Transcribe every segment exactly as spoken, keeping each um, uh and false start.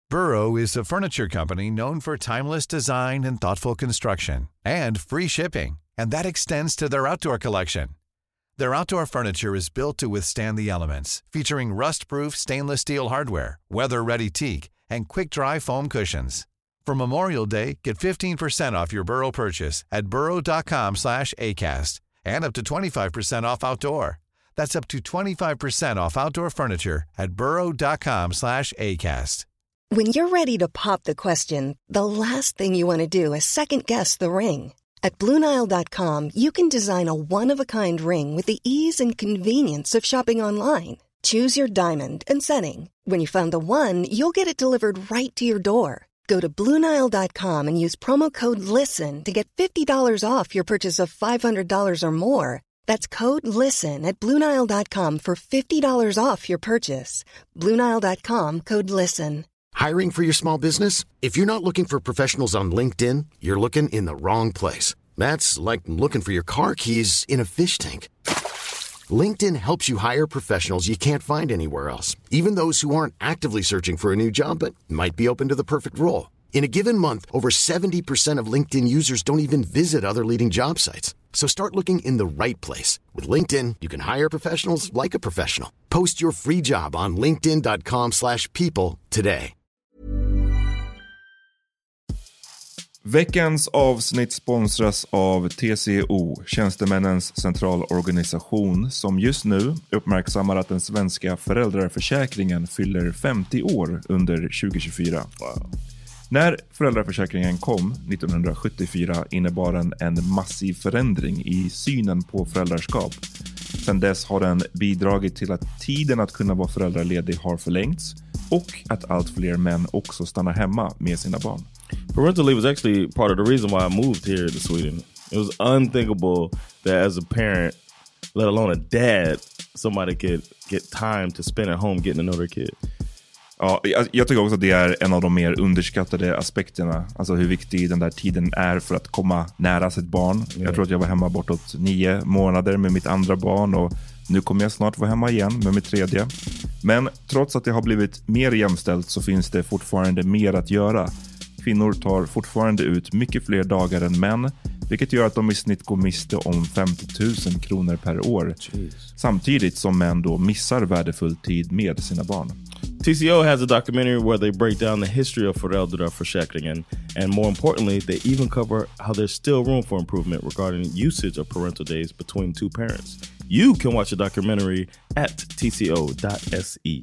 Burrow is a furniture company known for timeless design and thoughtful construction, and free shipping, and that extends to their outdoor collection. Their outdoor furniture is built to withstand the elements, featuring rust-proof stainless steel hardware, weather-ready teak, and quick-dry foam cushions. For Memorial Day, get fifteen percent off your Burrow purchase at burrow.com slash ACAST and up to twenty-five percent off outdoor. That's up to twenty-five percent off outdoor furniture at burrow.com slash ACAST. When you're ready to pop the question, the last thing you want to do is second-guess the ring. At Blue Nile dot com, you can design a one-of-a-kind ring with the ease and convenience of shopping online. Choose your diamond and setting. When you find the one, you'll get it delivered right to your door. Go to Blue Nile dot com and use promo code LISTEN to get fifty dollars off your purchase of five hundred dollars or more. That's code LISTEN at Blue Nile dot com for fifty dollars off your purchase. Blue Nile dot com, code LISTEN. Hiring for your small business? If you're not looking for professionals on LinkedIn, you're looking in the wrong place. That's like looking for your car keys in a fish tank. LinkedIn helps you hire professionals you can't find anywhere else, even those who aren't actively searching for a new job but might be open to the perfect role. In a given month, over seventy percent of LinkedIn users don't even visit other leading job sites. So start looking in the right place. With LinkedIn, you can hire professionals like a professional. Post your free job on linkedin.com slash people today. Veckans avsnitt sponsras av T C O, Tjänstemännens centralorganisation, som just nu uppmärksammar att den svenska föräldraförsäkringen fyller femtio år under tjugo tjugofyra. Wow. När föräldraförsäkringen kom nittonhundrasjuttiofyra innebar den en massiv förändring i synen på föräldraskap. Sedan dess har den bidragit till att tiden att kunna vara föräldraledig har förlängts och att allt fler män också stannar hemma med sina barn. Parental leave was actually part of the reason why I moved here to Sweden. It was unthinkable that as a parent, let alone a dad, somebody could get time to spend at home getting to know their kid. Ja, jag, jag tycker också att det är en av de mer underskattade aspekterna. Alltså hur viktig den där tiden är för att komma nära sitt barn. Yeah. Jag tror att jag var hemma bortåt nio månader med mitt andra barn och nu kommer jag snart vara hemma igen med mitt tredje. Men trots att det har blivit mer jämställt så finns det fortfarande mer att göra. Kvinnor tar fortfarande ut mycket fler dagar än män, vilket gör att de i snitt går miste om femtio tusen kronor per år. Jeez. Samtidigt som män då missar värdefull tid med sina barn. T C O has a documentary where they break down the history of föräldraförsäkringen, and more importantly, they even cover how there's still room for improvement regarding usage of parental days between two parents. You can watch the documentary at T C O dot S E.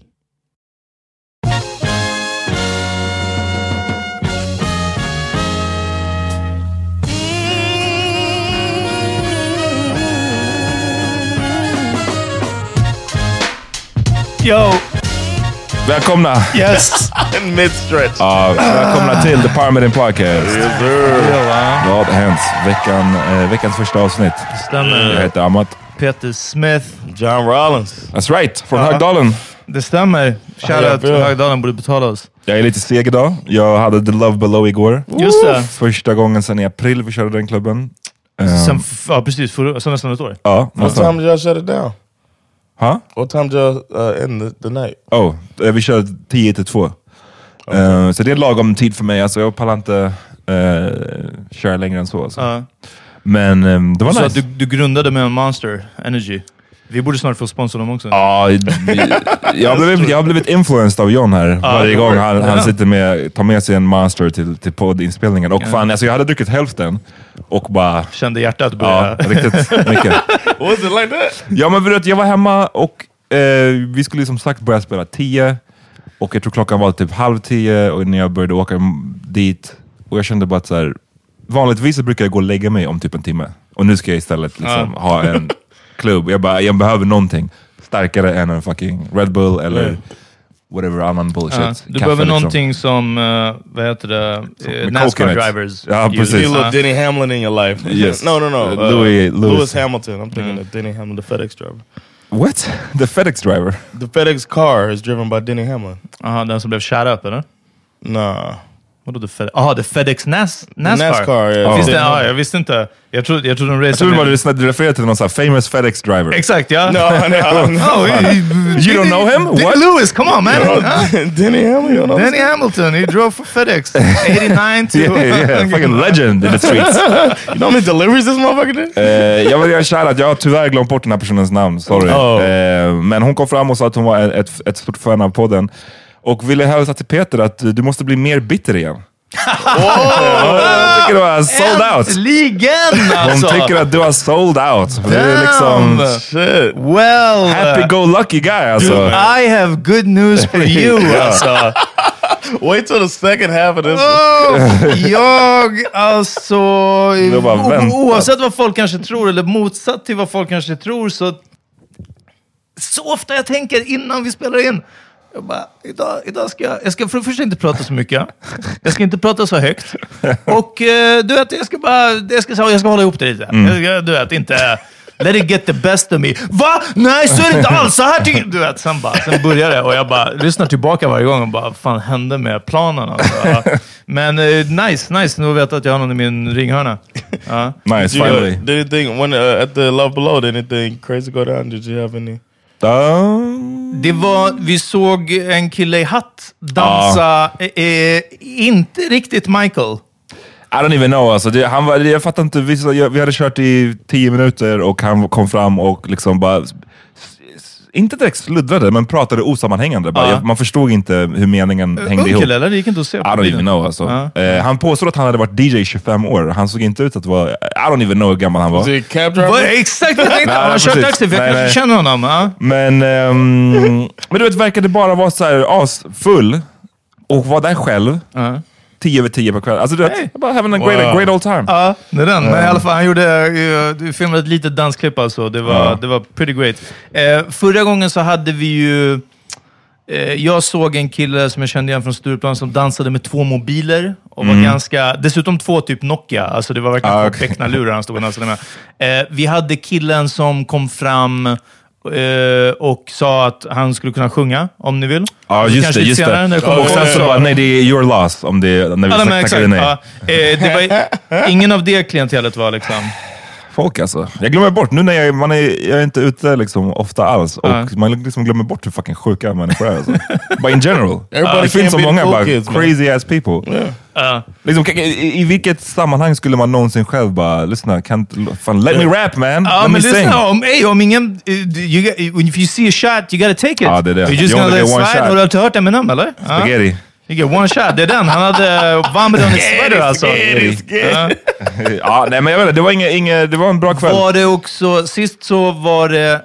Yo! Välkomna! Yes! In mid-stretch. Ja, välkomna till The Parmenian Podcast. Yes, sir. Vad har hänt? Veckan, eh, veckans första avsnitt. Stämmer. Jag heter Amat. Peter Smith. John Rollins. That's right, från Ja. Högdalen. Det stämmer. Shoutout till Högdalen, borde betala oss. Jag är lite seg idag. Jag hade The Love Below igår. Just det. Första gången sedan i april vi körde den klubben. Um, Sen, ja, precis. För, så nästan ett år. Ja. What time did y'all shut it down? Huh? What time did y'all uh, end the, the night? Oh, eh, vi körde tio till två. Okay. Uh, så det är lagom tid för mig. Alltså jag pallar inte uh, köra längre än så. Alltså. Uh. Men um, det var så nice. Du, du grundade med Monster Energy. Vi borde snart få sponsra dem också. Ja, jag har blivit, jag har blivit influenced av John här. Ah, varje gång han, han sitter med, tar med sig en Monster till, till poddinspelningen. Och fan, alltså jag hade druckit hälften. Och bara... Kände hjärtat börja... Ja, riktigt mycket. Was it like that? Ja, men vet, jag var hemma och eh, vi skulle som sagt börja spela tio. Och jag tror klockan var typ halv tio. Och när jag började åka dit. Och jag kände bara att så här, vanligtvis brukar jag gå och lägga mig om typ en timme. Och nu ska jag istället liksom ah. ha en... klubb. Jag bara, jag behöver någonting starkare än en fucking Red Bull eller mm. whatever annan bullshit. Uh, du behöver liksom någonting som, uh, vad heter det? Uh, NASCAR drivers. Ja, precis. You need a Denny Hamlin in your life. Yes. no, no, no. Uh, Louis, Louis. Lewis Hamilton. I'm thinking mm. of Denny Hamlin, the FedEx driver. What? The FedEx driver? The FedEx car is driven by Denny Hamlin. Jaha, uh, den som blev shot up, eller? Nah. Vadå det Fed- ah, det FedEx Nas- NASCAR? NASCAR, ja. Finns det? Ah, jag visste inte. Jag trodde, jag trodde de Jag trodde bara du refererade till någon sån här famous FedEx driver. Exakt, ja. No, no, no. Oh, You don't know him? What? Lewis, come on, man. Denny Hamilton. Danny Hamilton, he drove for FedEx. eighty-nine to... Yeah, yeah, fucking legend in the streets. You know how many deliveries this motherfucker did? Uh, jag vill göra kär att jag har tyvärr glömt bort den här personens namn, sorry. Oh. Uh, men hon kom fram och sa att hon var ett, ett stort fan av podden. Och ville hälsa till Peter att du måste bli mer bitter igen. Oh, jag tycker du har sold out. Äntligen, alltså. Hon tycker att du har sold out. Det är liksom Shit. Well, happy-go-lucky guy alltså. Dude, I have good news for you, alltså. Wait till the second half of this. Oh, jag, alltså... bara o- oavsett vad folk kanske tror, eller motsatt till vad folk kanske tror, så... Så ofta jag tänker innan vi spelar in. Jag bara, idag, idag ska jag... Jag ska för det första inte prata så mycket. Jag ska inte prata så högt. Och eh, du vet, jag ska bara... Jag ska, jag ska hålla ihop det lite. Mm. Jag ska, du vet, inte... Let it get the best of me. Va? Nej, så är det inte alls. Så här tycker du. Vet, sen, bara, sen börjar det och jag bara lyssnar tillbaka varje gång och bara, vad fan hände med planen? Alltså. Men uh, nice, nice. Nu vet jag att jag har någon i min ringhörna. Uh. Nice, Did you, finally. uh, did anything, when, uh, at the Love Below, did anything crazy go down? Did you have any? Um, Det var, vi såg en kille i hatt dansa, eh, eh, inte riktigt Michael. I don't even know alltså. Det, han var, jag fattar inte, vi, vi hade kört i tio minuter och han kom fram och liksom bara inte direkt sluddrade, men pratade osammanhängande. Bara. Ja. Jag, man förstod inte hur meningen hängde Ung ihop. kille, eller? Det gick inte att se I på don't bilden. even know alltså. Ja. Eh, han påstod att han hade varit D J i tjugofem år. Han såg inte ut att vara... I don't even know hur gammal han var. Was he a cab driver? Vad- Exakt vad jag tänkte. Nej, Han har kört precis. taxi, för jag Nej, kanske nej. känner honom. Ja. Men, ehm, men du vet, verkade bara vara så här asfull och var där själv. Ja. Tio över tio på kvällen. Alltså du vet, Hey. bara having a great, Wow. great old time. Ja, det är den. Men i alla fall, han gjorde, uh, du filmade ett litet dansklipp alltså. Det var, Ja. det var pretty great. Eh, förra gången så hade vi ju... Eh, jag såg en kille som jag kände igen från Stureplan som dansade med två mobiler. Och var ganska... Dessutom två typ Nokia. Alltså det var verkligen Ah, två okay. becknalurar han stod och dansade med. Eh, vi hade killen som kom fram... eh, och sa att han skulle kunna sjunga, om ni vill. Ja, Så just kanske det, lite just senare det. när kommer Och sen ihåg så bara, nej det är your loss om det, när vi Ja, men tackade exakt. nej. Ja, eh, det var ingen av det klientelet var liksom... Folk alltså. Jag glömmer bort, nu när jag, man är, jag är inte ute liksom ofta alls. Och Ja. man liksom glömmer bort hur fucking sjuka människor är alltså. But in general. Everybody Det finns can't så be många cool bara kids, man. crazy ass people. Yeah. Ja. Liksom, i, I vilket sammanhang skulle man någonsin själv bara, lyssna, can't, fan, let me rap man, Ja, let me men sing. lyssna, om, ey, om ingen... uh, You got, if you see a shot, you gotta take it. Ja, det är det. You're just You gonna only let get one slide. shot. Har du inte hört Eminem, eller? Ja. Spaghetti. You get one shot. Det är den. Han hade vomit on his sweater, alltså. Ja. Ja, nej men jag vet inte, det var, inga, inga, det var en bra kväll. Var det också... Sist så var det...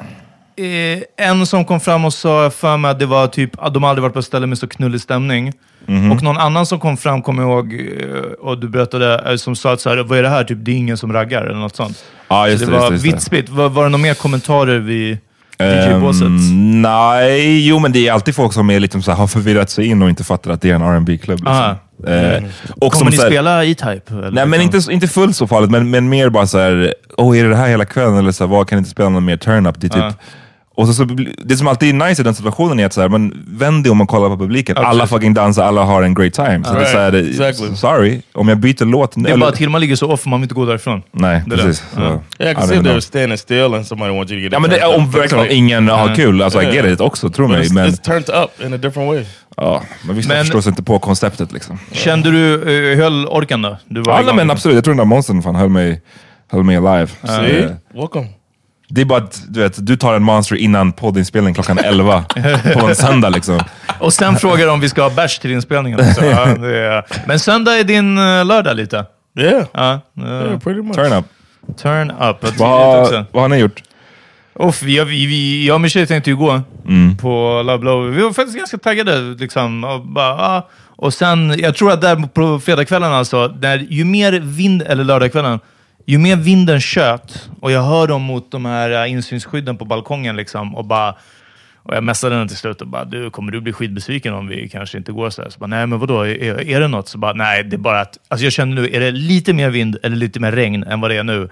Eh, en som kom fram och sa för mig att det var typ att de aldrig varit på ett ställe med så knullig stämning. Mhm. Och någon annan som kom fram, kom jag ihåg, eh, och du berättade, eh, som sa att så här, vad är det här? Typ, det är ingen som raggar eller något sånt. Ja, just Så det, det var just det, just vitt spritt. Var, var det några mer kommentarer vid D J-båset? Um, nej, jo men det är alltid folk som är liksom så här, har förvirrat sig in och inte fattar att det är en R and B-klubb. Liksom. Aha. Eh, och Kommer som ni så här, spela E-Type? eller nej men liksom? inte, inte fullt så farligt, men, men mer bara så här, åh är det det här hela kvällen? Eller så här, vad kan inte spela någon mer turn-up? Det är typ, Ja. och så, så, det som alltid är nice i den situationen är att så här, men vänd dig om man kollar på publiken. Ja, Alla precis. fucking dansar, alla har en great time. Så det är så här, det, Exactly. sorry, om jag byter låt... Det är bara att Hilma ligger så off, man vill inte gå därifrån. Nej, Det är precis. det. Så, Ja. Yeah, I I can don't see if know. they were standing still and somebody wants you to get Ja it men det, turned om up. verkligen om ingen har kul, alltså I get it också, tro But mig. it's, Men, it's turned up in a different way. ja, men vissa Men- förstår sig inte på konceptet liksom. Kände du, uh, höll orken då? Du var Ja, igång, nej, men liksom. absolut, jag tror den där monstern fan höll mig, höll mig alive. Så, See? eh, Welcome. det är bara att du, vet, du tar en monster innan poddinspelning klockan elva på en söndag liksom. Och sen frågar de om vi ska ha bärs till inspelningen. Så, ja, det är... Men söndag är din uh, lördag lite. Yeah. Ja, uh, Yeah, pretty much. Turn up. turn up. Jag tycker det Vad, också. vad har ni gjort? Uff, vi, vi, vi, jag och min tjej tänkte ju gå Mm. på Love Blow. Vi var faktiskt ganska taggade. Liksom, och, bara, ah. och sen, jag tror att där på fredagskvällen, alltså, där, ju mer vind, eller lördagskvällen, ju mer vinden tjöt, och jag hör dem mot de här uh, insynsskydden på balkongen, liksom, och bara... Och jag messade den till slut och bara, du, kommer du bli skitbesviken om vi kanske inte går så här? Så bara, nej men vadå, är, är det något? Så bara, nej, det är bara att, alltså jag känner nu, är det lite mer vind eller lite mer regn än vad det är nu,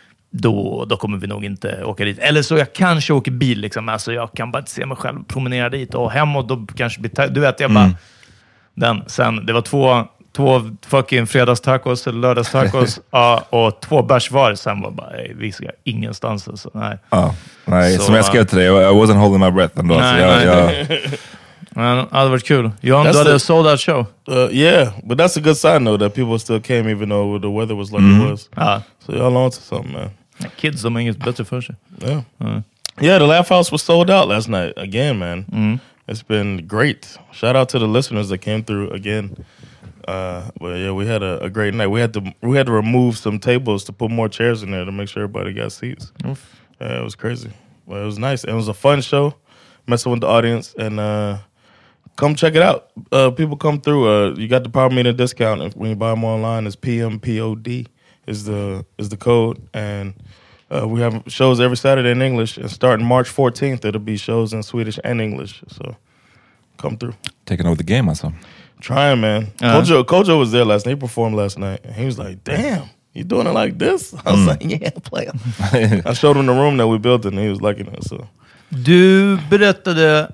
då, då kommer vi nog inte åka dit. Eller så jag kanske åker bil, liksom. Alltså jag kan bara inte se mig själv promenera dit och hem, och då kanske blir, ta- du vet, jag bara, Mm. den, sen, det var två, två fucking fredagstacos eller lördagstacos ja, och två bärs var. Sen var bara, ej, vi ska ingenstans. Alltså. Nej, ja, nej så, som jag skrev till dig, I wasn't holding my breath ändå. Nej, så jag, nej. jag... Men det hade varit kul. John, du hade sold that show. Uh, yeah, but that's a good sign though that people still came even though the weather was like mm. it was. Ja. So y'all on to something, man. Kids, de har inget bättre för sig. Yeah. Mm. Yeah, the Laugh House was sold out last night again, man. Mm. It's been great. Shout out to the listeners that came through again. Uh, but yeah, we had a, a great night. We had to we had to remove some tables to put more chairs in there to make sure everybody got seats. Oof. Yeah, it was crazy. But it was nice. It was a fun show. Messing with the audience and uh, come check it out. Uh, people come through. Uh, you got the Power Meter discount if, when you buy them online. It's P M P O D is the is the code and. Uh, we have shows every Saturday in English, and starting March fourteenth, it'll be shows in Swedish and English. So, come through. Taking over the game, also. Trying, man. Uh-huh. Kojo, Kojo was there last night. He performed last night. And he was like, damn, you doing it like this? I was mm. like, yeah, player. I showed him the room that we built and he was liking it. So. Du berättade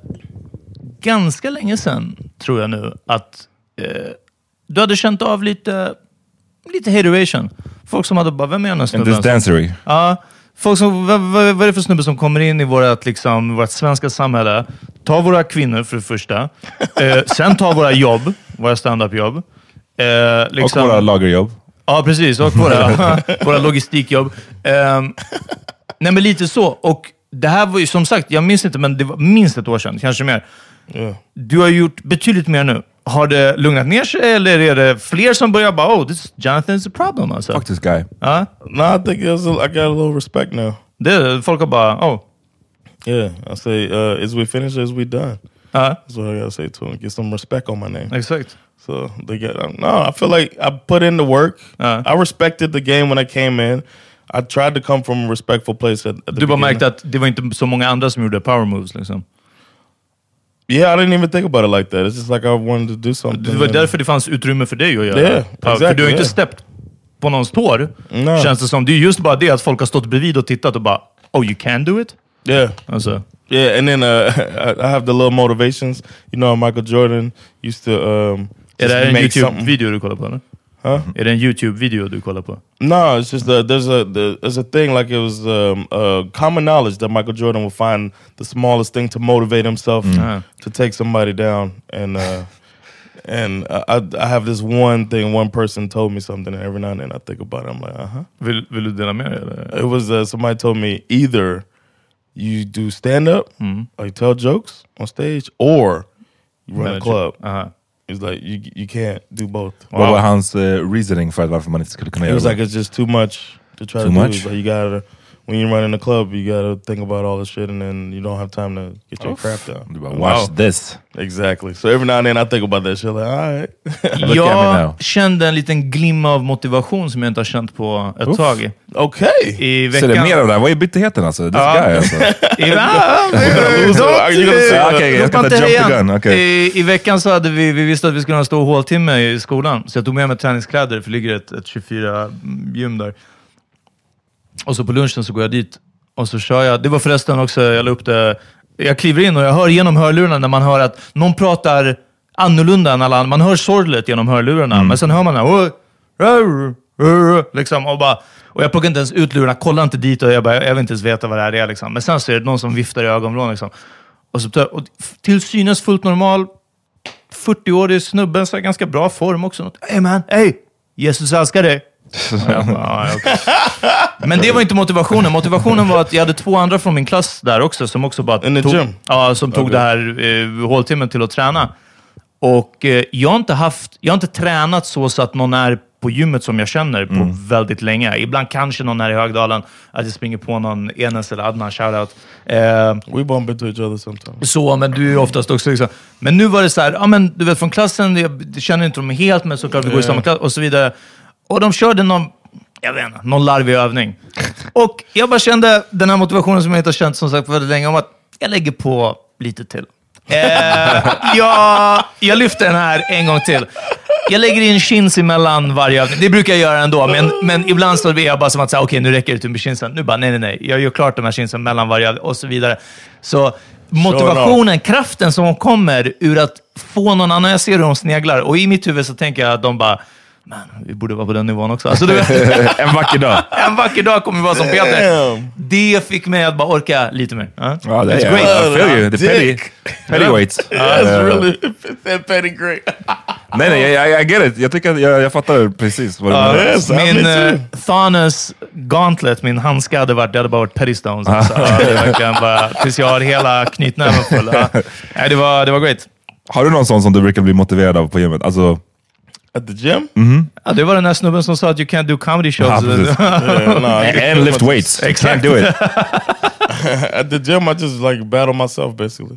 ganska länge sedan, tror jag nu, att eh, du hade känt av lite, lite hateration. Folk som hade bara, vem är den snubben? In this dancery. Ja, folk som, vad, vad, vad är det för snubbe som kommer in i vårt, liksom, vårt svenska samhälle, tar våra kvinnor för det första, eh, sen tar våra jobb, våra stand-up-jobb. Eh, liksom, och våra lagerjobb. Ja, precis. Och våra, våra logistikjobb. Eh, nej, men lite så. Och det här var ju, som sagt, jag minns inte, men det var minst ett år sedan, kanske mer. Yeah. Du har gjort betydligt mer nu. Har det lugnat ner sig eller är det fler som börjar bara, oh, this Jonathan is a problem alltså? Fuck this guy. Uh? No, I think it was a, I got a little respect now. Det, folk har bara, oh. Yeah, I say, uh, is we finished, is we done? Uh? That's what I gotta say to them. Get some respect on my name. Exakt. So they get, um, no, I feel like I put in the work. Uh. I respected the game when I came in. I tried to come from a respectful place at, at the Du bara beginning. märkte att det var inte så många andra som gjorde power moves liksom. Yeah, I didn't even think about it like that. It's just like I wanted to do something. Det var därför det fanns utrymme för dig att göra. Yeah, exactly, för du har yeah. inte steppt på någons tår. No. Känns det som. Det är just bara det att folk har stått bredvid och tittat och bara, oh, you can do it? Yeah. Alltså. Yeah, and then uh, I have the little motivations. You know, Michael Jordan used to um, är det en make YouTube-video du kollar på, eller? Huh? Är det en YouTube-video du kollar på? No, it's just that there's a the, there's a thing like it was um, uh, common knowledge that Michael Jordan will find the smallest thing to motivate himself mm. to take somebody down, and uh, and I I have this one thing. One person told me something, and every now and then I think about it. I'm like, uh huh. Vill, vill du dela med dig? Eller? It was uh, somebody told me either you do stand up mm. or you tell jokes on stage, or you run Manage a club. Uh-huh. It's like you you can't do both. Wow. Vad var hans uh, reasoning för varför man inte skulle kunna göra det? It was like it's just too much to try too to much? do. Like you gotta, when you're running a club, you gotta think about all this shit, and then you don't have time to get your crap down. Du bara, watch wow. this. Exactly. So every now and then I think about that shit. Like, all right. Jag kände en liten glimma av motivation som jag inte har känt på ett Uff. tag. Okej. Okay. I veckan... Så det är mer av det här. Vad är bitterheten alltså? This ja. guy alltså. I, I veckan så hade vi, vi visste att vi skulle ha en stor håltimme i skolan. Så jag tog med mig träningskläder, för det ligger ett, ett tjugofyra gym där. Och så på lunchen så går jag dit. Och så kör jag. Det var förresten också, jag la upp det. Jag kliver in och jag hör genom hörlurarna när man hör att någon pratar annorlunda än alla andra. Man hör sorglet genom hörlurarna. Mm. Men sen hör man här, liksom, och, bara, och jag plockar inte ens ut lurarna, kollar inte dit och jag, bara, jag vill inte ens veta vad det här är. Liksom. Men sen så är det någon som viftar i ögonvrån. Liksom. Och, så, och till synes fullt normal, fyrtio-årig snubben, så är ganska bra form också. Hey man, hey, Jesus älskar dig. Ja, bara, okay. Men det var inte motivationen. Motivationen var att jag hade två andra från min klass där också som också bara tog, tog, ja, som tog okay. det här eh, håltimmen till att träna. Och eh, jag har inte haft, jag har inte tränat så, så att någon är på gymmet som jag känner på mm. väldigt länge. Ibland kanske någon här i Högdalen att jag springer på någon Enes eller Adnan, shoutout. Eh, We bump into each other sometimes. Så, men du är ju oftast också liksom. Men nu var det så här, ja men du vet från klassen, jag känner inte dem helt, men såklart vi går i samma klass och så vidare. Och de körde någon, jag vet inte, någon larvig övning. Och jag bara kände den här motivationen som jag inte har känt som sagt för väldigt länge, om att jag lägger på lite till. Eh, jag, jag lyfter den här en gång till. Jag lägger in chins emellan varje övning. Det brukar jag göra ändå, men, men ibland så är jag bara som att säga, okej, okay, nu räcker det till med chinsen. Nu bara, nej, nej, nej. Jag gör klart de här chinsen mellan varje övning och så vidare. Så motivationen, kraften som kommer ur att få någon annan. Jag ser hur de sneglar. Och i mitt huvud så tänker jag att de bara, man, vi borde vara på den nivån också. Alltså, du vet, en vacker dag. En vacker dag kommer vi vara som Peter. Det fick mig att bara orka lite mer. Uh? Ja, det är great. I feel you. The petty, petty weights. That's really petty great. nej, nej, jag, jag get it. Jag tycker att jag, jag fattar precis vad du menar. Yes, min uh, Thanos Gauntlet, min handska hade varit, det hade bara varit petty stones. Alltså. uh, det verkligen bara, tills jag har hela knytnäven full. Uh, nej, det var, det var great. Har du någon sån som du brukar bli motiverad av på gymmet? Alltså... At the gym? Mm-hmm. Ja, det var den här snubben som sa att you can't do comedy shows. Ja, yeah, no, and lift weights. Exactly. You can't do it. At the gym, I just like battle myself, basically.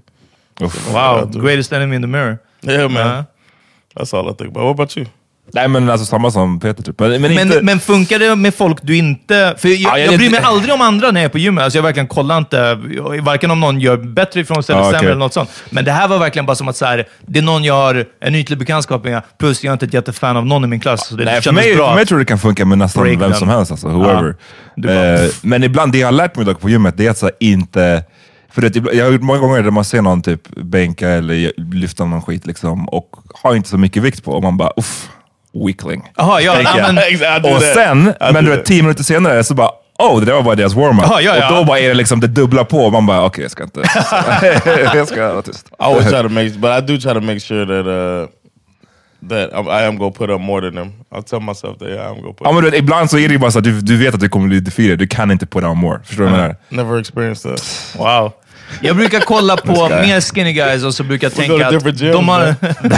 Wow, greatest enemy in the mirror. Yeah, man. Uh-huh. That's all I think about. What about you? Nej, men alltså samma som Peter typ. Men, men, men, inte... men funkar det med folk du inte... För jag, ja, jag, jag bryr mig aldrig om andra när jag är på gymmet. Alltså jag verkligen kollar inte, varken om någon gör bättre ifrån sig eller ah, sämre okay. eller något sånt. Men det här var verkligen bara som att så här, det är någon jag har en ytlig bekantskap med, plus jag är inte ett jättefan av någon i min klass. Så det Nej, för mig, bra. för mig tror jag det kan funka med nästan Break vem them. som helst, alltså, whoever. Ja, bara... eh, men ibland, det jag har lärt mig dock på gymmet, det är att så här, inte... För det, jag har gjort många gånger där man ser någon typ bänka eller lyfta någon skit liksom, och har inte så mycket vikt på, och man bara, uff. Weakling. Aha, ja, ja, men, och sen, men du vet, tio minuter senare så bara, oh, det där var bara deras warm-up. Aha, ja, ja. Och då bara är det liksom det dubbla på, och man bara, okej, okay, jag ska inte... jag ska vara tyst. I always try to make, but I do try to make sure that uh, that I am going to put up more than them. I'll tell myself that yeah, I'm going to put ja, men du vet, ibland så är det ju bara så att du, du vet att du kommer bli defeated, du kan inte put up more. Förstår du vad jag menar? Never experienced that. Wow. Jag brukar kolla på mer skinny guys och så brukar jag tänka att gyms, de har,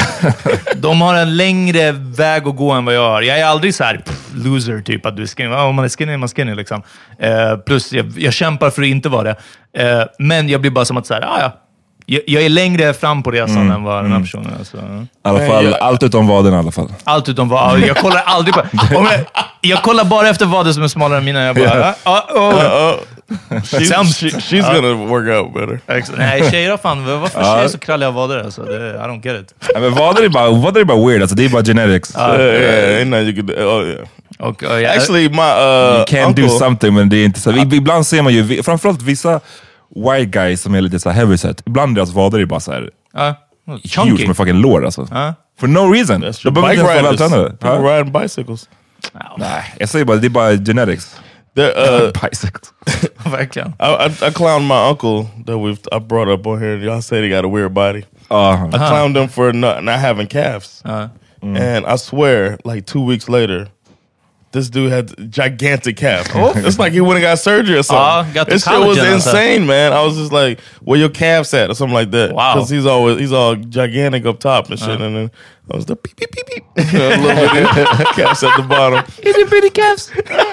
de har en längre väg att gå än vad jag har. Jag är aldrig så här pff, loser typ att du är skinny. Om man är skinny är man skinny liksom. Eh, plus jag, jag kämpar för att inte vara det. Eh, men jag blir bara som att så här, ah, ja. Jag, jag är längre fram på resan mm. än vad den här personen är. Så. I alla fall, jag, allt utom vaden i alla fall. Allt utom vaden. Jag kollar aldrig på... Om jag, jag kollar bara efter vaden som är smalare än mina. Jag bara... Yeah. Uh, uh, uh. She's, she, she's uh. gonna work out better. Nej, tjejer fan. Varför uh. tjejer så kralliga vader? Alltså, det, I don't get it. Ja, men vader är bara, vader är bara weird. Alltså, det är bara genetics. Uh, uh, yeah, yeah, you could, oh, yeah. Okay, uh, yeah. Actually, my uh, you can uncle, do something, men det är inte så. Uh. Ibland ser man ju, framförallt vissa white guys som är lite så här heavyset. Ibland deras vader är bara så här... Uh. Huge med fucking lår alltså. Uh. For no reason. That's true. Bike riders. People huh? riding bicycles. No. Nej, jag säger bara, det är bara genetics. Uh, bicycles. Verkligen. I, I, I clowned my uncle that we've I brought up on here. Y'all say they got a weird body. Uh, I clowned him for not, not having calves. Uh. Mm. And I swear, like two weeks later, this dude had gigantic calves. Oh. It's like he went and got surgery or something. Uh, got this shit was insane, man. I was just like, where your calves at? Or something like that. Wow. Because he's always he's all gigantic up top and shit. Uh. And then I was the beep, beep, beep, beep. You know, a little bit of calves at the bottom. Itty bitty calves.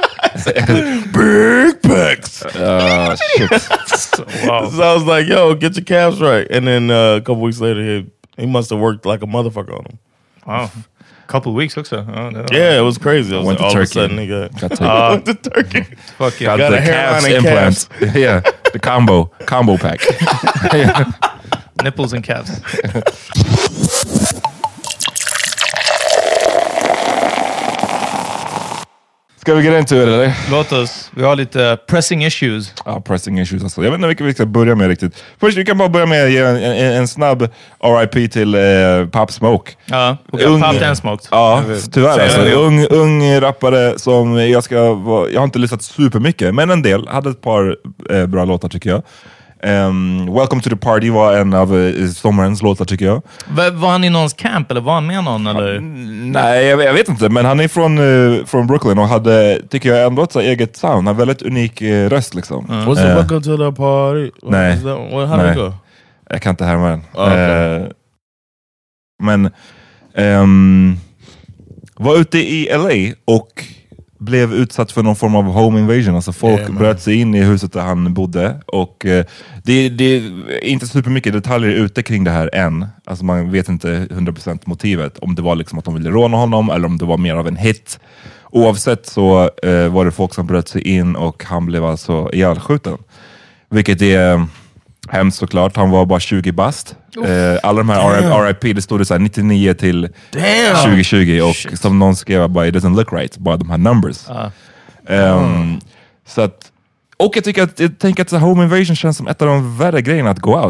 Big pecs. Oh, shit. Wow. So I was like, yo, get your calves right. And then uh, a couple weeks later, he, he must have worked like a motherfucker on them. Wow. Couple weeks också. Oh, no. Yeah, it was crazy. I was went like, to all Turkey. of a sudden he got, got uh, went to Turkey. Fuck yeah. Got, got the calves implants. Yeah, the combo, combo pack. Nipples and calves. Ska vi get into it eller? Låt oss. Vi har lite pressing issues. Ja, ah, pressing issues alltså. Jag vet inte vilka vi ska börja med riktigt. Först vi kan bara börja med att ge en, en, en snabb R I P till uh, Pop Smoke. Ja, och ung, Pop and Smoked. Ja, tyvärr alltså. Ung, ung rappare som jag ska vara, jag har inte lyssnat supermycket, men en del. Hade ett par eh, bra låtar tycker jag. Um, Welcome to the Party var en av uh, sommarens låtar tycker jag. Var, var han i någons camp eller var han med någon? Eller? Mm, nej, jag, jag vet inte. Men han är från, uh, från Brooklyn och hade, tycker jag, ändå ett så eget sound. Han har väldigt unik uh, röst liksom. Mm. Was it uh, Welcome to the Party? What nej. That, well, how did it go? Jag kan inte härma den. Oh, okay. uh, men um, var ute i L A och blev utsatt för någon form av home invasion. Alltså folk yeah, bröt sig in i huset där han bodde. Och eh, det, det är inte supermycket detaljer ute kring det här än. Alltså man vet inte hundra procent motivet. Om det var liksom att de ville råna honom eller om det var mer av en hit. Oavsett så eh, var det folk som bröt sig in och han blev alltså ihjälskjuten. Vilket är hemskt såklart. Han var bara tjugo bast. Eh, alla de här R I P, det stod det så här nittionio till Damn. tjugo tjugo och Shit. som någon skrev bara, it doesn't look right, bara de här numbers. Uh. Um, mm. Så att, och jag tycker att, jag tänker att home invasion känns som ett av de värre grejerna att gå out.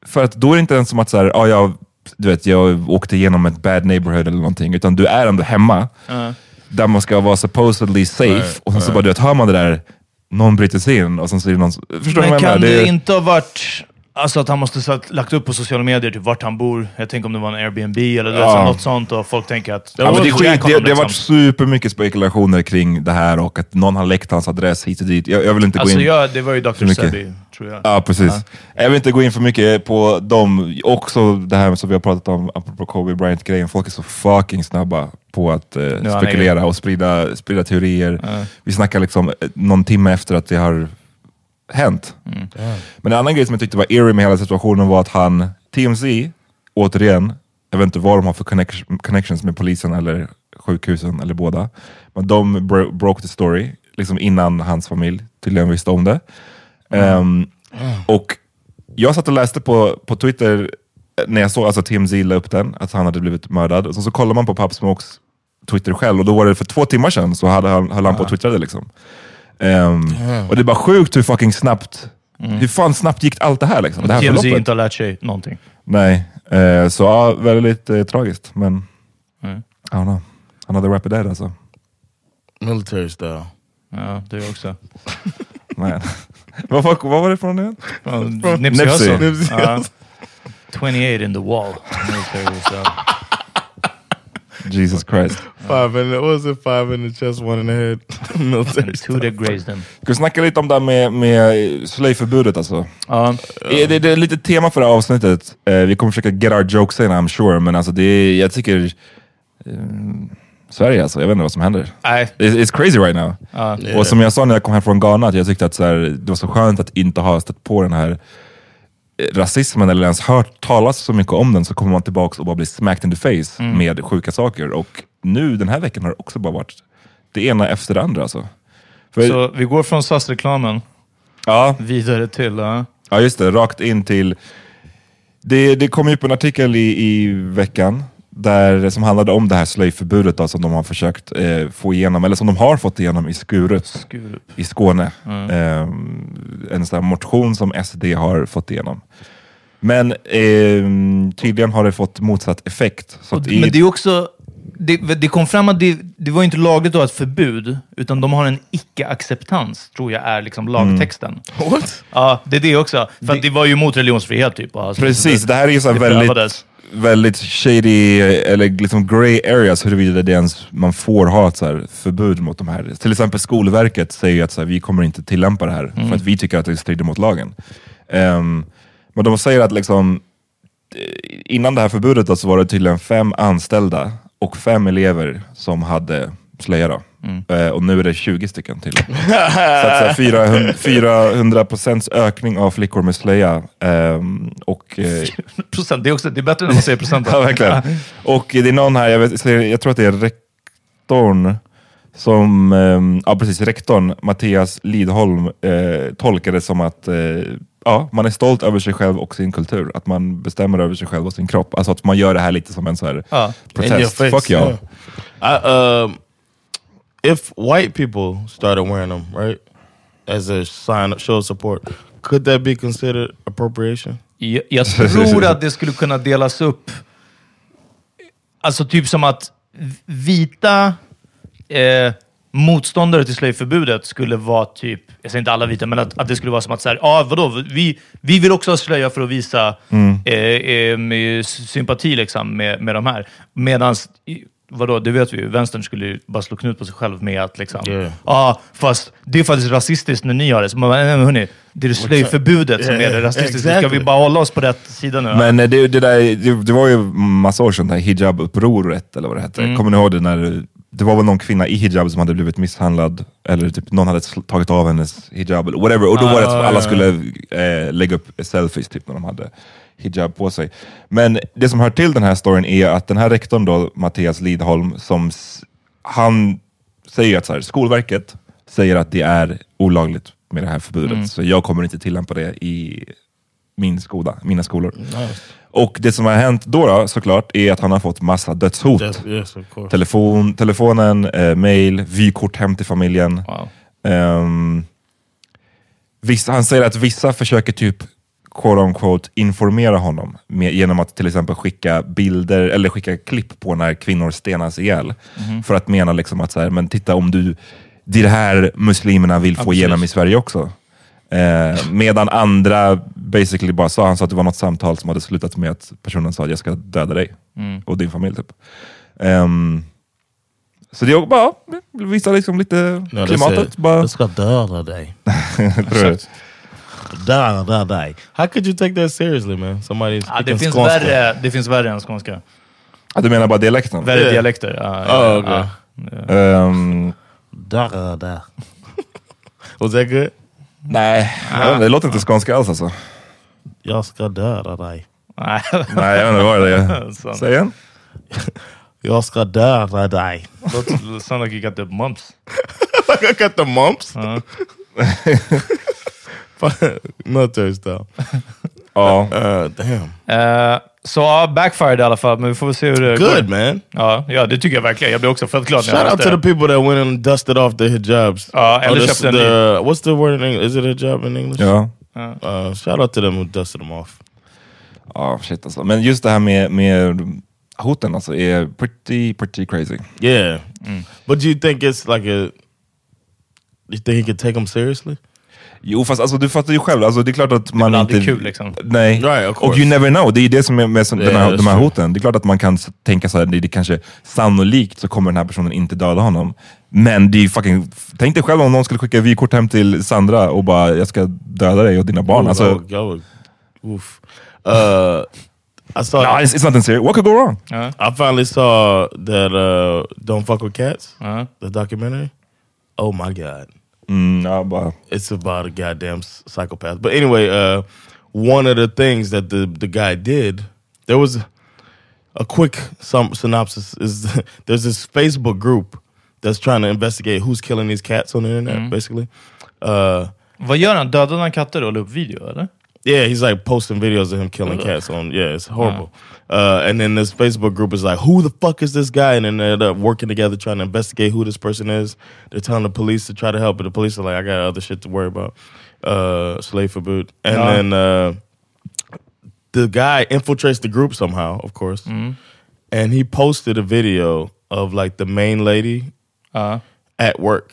För att då är det inte ens som att så här, ah, jag, du vet, jag åkte igenom ett bad neighborhood eller någonting, utan du är ändå hemma uh. där man ska vara supposedly safe right. och sen så uh. bara du vet, hör man det där, någon bryter sig in och sen så är det någon, förstår men du vad jag kan menar? det är... inte ha varit alltså att han måste ha lagt upp på sociala medier typ vart han bor, jag tänker om det var en Airbnb eller ja. något sånt och folk tänker att ja, men det, skit, det, det, det har varit supermycket spekulationer kring det här och att någon har läckt hans adress hit och dit. Jag, jag vill inte alltså gå in ja, det var ju doktor Sebi, tror jag. Ja, precis. Ja. Jag vill inte gå in för mycket på dem. Också det här som vi har pratat om apropå Kobe Bryant-grejen. Folk är så fucking snabba på att eh, spekulera är... och sprida, sprida teorier. Ja. Vi snackar liksom någon timme efter att det har hänt. Mm. Men en annan grej som jag tyckte var eerie med hela situationen var att han, T M Z, återigen, jag vet inte vad de har för connection, connections med polisen eller sjukhusen eller båda, men de bro- broke the story liksom innan hans familj tydligen visste om det. Mm. Um, mm. Och jag satt och läste på, på Twitter när jag såg alltså T M Z la upp den, att han hade blivit mördad, och så, så kollar man på Pop Smokes Twitter själv, och då var det för två timmar sedan så hade han, höll han på och twittrade liksom. Um, mm. Och det är bara sjukt hur fucking snabbt mm. hur fan snabbt gick allt det här liksom, det här T M Z inte har lärt sig någonting. Nej, uh, så ja, väldigt uh, tragiskt, men mm. I don't know, another rapid dead alltså. Military style. Ja, det är också. Nej. vad, vad, vad var det från det? Från Nipsey Hussle. uh, twenty-eight in the wall. Military style. Jesus Christ. Five in the, what was it? Five in the chest, one in the head. Military two that grazed them. Ska vi snacka lite om det med, med slöjförbudet alltså? Uh, det, det, det är lite tema för det här avsnittet. Uh, vi kommer försöka get our jokes in, I'm sure. Men alltså det är, jag tycker uh, Sverige alltså, jag vet inte vad som händer. Nej. It's, it's crazy right now. Uh, yeah. Och som jag sa när jag kom hem från Ghana, att jag tyckte att så här, det var så skönt att inte ha stött på den här rasismen eller ens hört talas så mycket om den, så kommer man tillbaka och bara blir smacked in the face mm. med sjuka saker. Och nu den här veckan har det också bara varit det ena efter det andra alltså. För, så vi går från S A S-reklamen ja. vidare till uh... ja just det, rakt in till det, det kom ju upp en artikel i, i veckan där, som handlade om det här slöjförbudet då, som de har försökt eh, få igenom, eller som de har fått igenom i Skurup, Skurup. i Skåne. Mm. Eh, en sån här motion som S D har fått igenom. Men eh, tydligen har det fått motsatt effekt. Så att i... Men det är också, det, det kom fram att det, det var inte lagligt att ha ett förbud, utan de har en icke-acceptans, tror jag är liksom lagtexten. Mm. What? Ja, det är det också. För det... att det var ju mot religionsfrihet typ. Alltså, precis, det, det här är ju så väldigt... Prövades. väldigt shady eller liksom grey areas huruvida det ens man får ha ett så här förbud mot de här. Till exempel Skolverket säger att så här, vi kommer inte tillämpa det här mm. för att vi tycker att det strider mot lagen. Um, men de säger att liksom innan det här förbudet då, så var det tydligen fem anställda och fem elever som hade slöja då. Mm. Uh, och nu är det tjugo stycken till. så att så fyrahundra procents ökning av flickor med slöja. Um, och, uh, procent, det är också det är bättre när man säger procent. Ja, verkligen. Och det är någon här, jag, vet, jag tror att det är rektorn som, um, ja precis, rektorn Mattias Lidholm uh, tolkade som att uh, ja, man är stolt över sig själv och sin kultur. Att man bestämmer över sig själv och sin kropp. Alltså att man gör det här lite som en så här uh. protest. Fuck y'all. Yeah. I, um, if white people started wearing them, right, as a sign of show support, could that be considered appropriation? Jag, jag tror att det skulle kunna delas upp. Alltså typ som att vita eh, motståndare till slöjförbudet skulle vara typ, jag säger inte alla vita, men att, att det skulle vara som att så här, ja vadå, vi, vi vill också ha slöja för att visa mm. eh, eh, sympati liksom med, med de här. Medans vadå, det vet vi ju. Vänstern skulle ju bara slå knut på sig själv med att liksom, ja, yeah. ah, fast det är faktiskt rasistiskt när ni har det. Så man bara, nej men hörni, det är det slöjförbudet yeah, som är det rasistiska. Exactly. Ska vi bara hålla oss på rätt sida nu? Men det, det, där, det, det var ju massa år sedan, hijab-upproret eller vad det hette. Mm. Kommer ni ihåg det när det var väl någon kvinna i hijab som hade blivit misshandlad, eller typ någon hade tagit av hennes hijab eller whatever. Och då ah, var det att alla skulle eh, lägga upp selfies typ när de hade hijab på sig. Men det som hör till den här storyn är att den här rektorn då, Mattias Lidholm, som han säger att så här, Skolverket säger att det är olagligt med det här förbudet. Mm. Så jag kommer inte tillämpa det i min skola, mina skolor. Nice. Och det som har hänt då, då såklart är att han har fått massa dödshot. Yes, yes, Telefon, telefonen, eh, mail, vykort hem till familjen. Wow. Um, vissa, han säger att vissa försöker typ quote on quote informera honom med, genom att till exempel skicka bilder eller skicka klipp på när kvinnor stenas ihjäl. Mm. För att mena liksom att så här, men titta om du, det är det här muslimerna vill få igenom i Sverige också. Eh, medan andra basically bara sa, han sa att det var något samtal som hade slutat med att personen sa att jag ska döda dig mm. och din familj typ. Um, så det är bara visa liksom lite no, klimatet. Bara... Jag ska döda dig. Döda dig. How could you take that seriously, man? Somebody ah, det, finns värre, det finns värre än skånska. Ah, du menar bara dialekten? Värre yeah. dialekter. Ah, ja, oh, okay. ah, yeah. um, döda. Was that good? Nej, ah. det låter inte skånska alls alltså. Jag ska döda dig. Nej, Nej jag vet inte vad det är. Säg igen. Jag ska döda dig. That sound like you got the mumps. Like I got the mumps? Uh. Military style. Ja. Uh, damn. Uh, så so, backfired i alla fall, men vi får se hur det Good, går. Man. Ja, ja, det tycker jag verkligen. Jag blir också fett glad. Shout out to the people that went and dusted off their hijabs. Ja, eller oh, köpte en the, what's the word in English? Is it hijab in English? Ja. Uh, shout out to them who dusted them off. Ja, oh, shit alltså. Men just det här med, med hoten alltså är pretty, pretty crazy. Yeah. Mm. But do you think it's like a... You think he could take them seriously? Jo, fast alltså, du fattar ju själv. Alltså, det är klart att man det är inte... kul liksom. Nej, right, och you never know. Det är det som är med yeah, den här, de här hoten. Det är klart att man kan tänka så här, det är kanske sannolikt så kommer den här personen inte döda honom. Men det är fucking... Tänk dig själv om någon skulle skicka vykort hem till Sandra och bara, jag ska döda dig och dina barn. Ooh, alltså... would, would, oof. Uh, I saw... No, it's, it's nothing serious. What could go wrong? Uh-huh. I finally saw that uh, Don't Fuck With Cats, uh-huh. the documentary. Oh my God. Mm, no, but... It's about a goddamn psychopath. But anyway, uh, one of the things that the, the guy did, there was a quick some synopsis, is there's this Facebook group that's trying to investigate who's killing these cats on the internet, mm. basically. Uh, Vad gör han? Dödar han katter och la upp video, eller? Yeah, he's like posting videos of him killing Ugh. cats on. Yeah, it's horrible. Uh, and then this Facebook group is like, who the fuck is this guy? And then they end up working together trying to investigate who this person is. They're telling the police to try to help, but the police are like, I got other shit to worry about. Uh, slave for boot. And yeah. then uh, the guy infiltrates the group somehow, of course. Mm. And he posted a video of like the main lady uh. at work.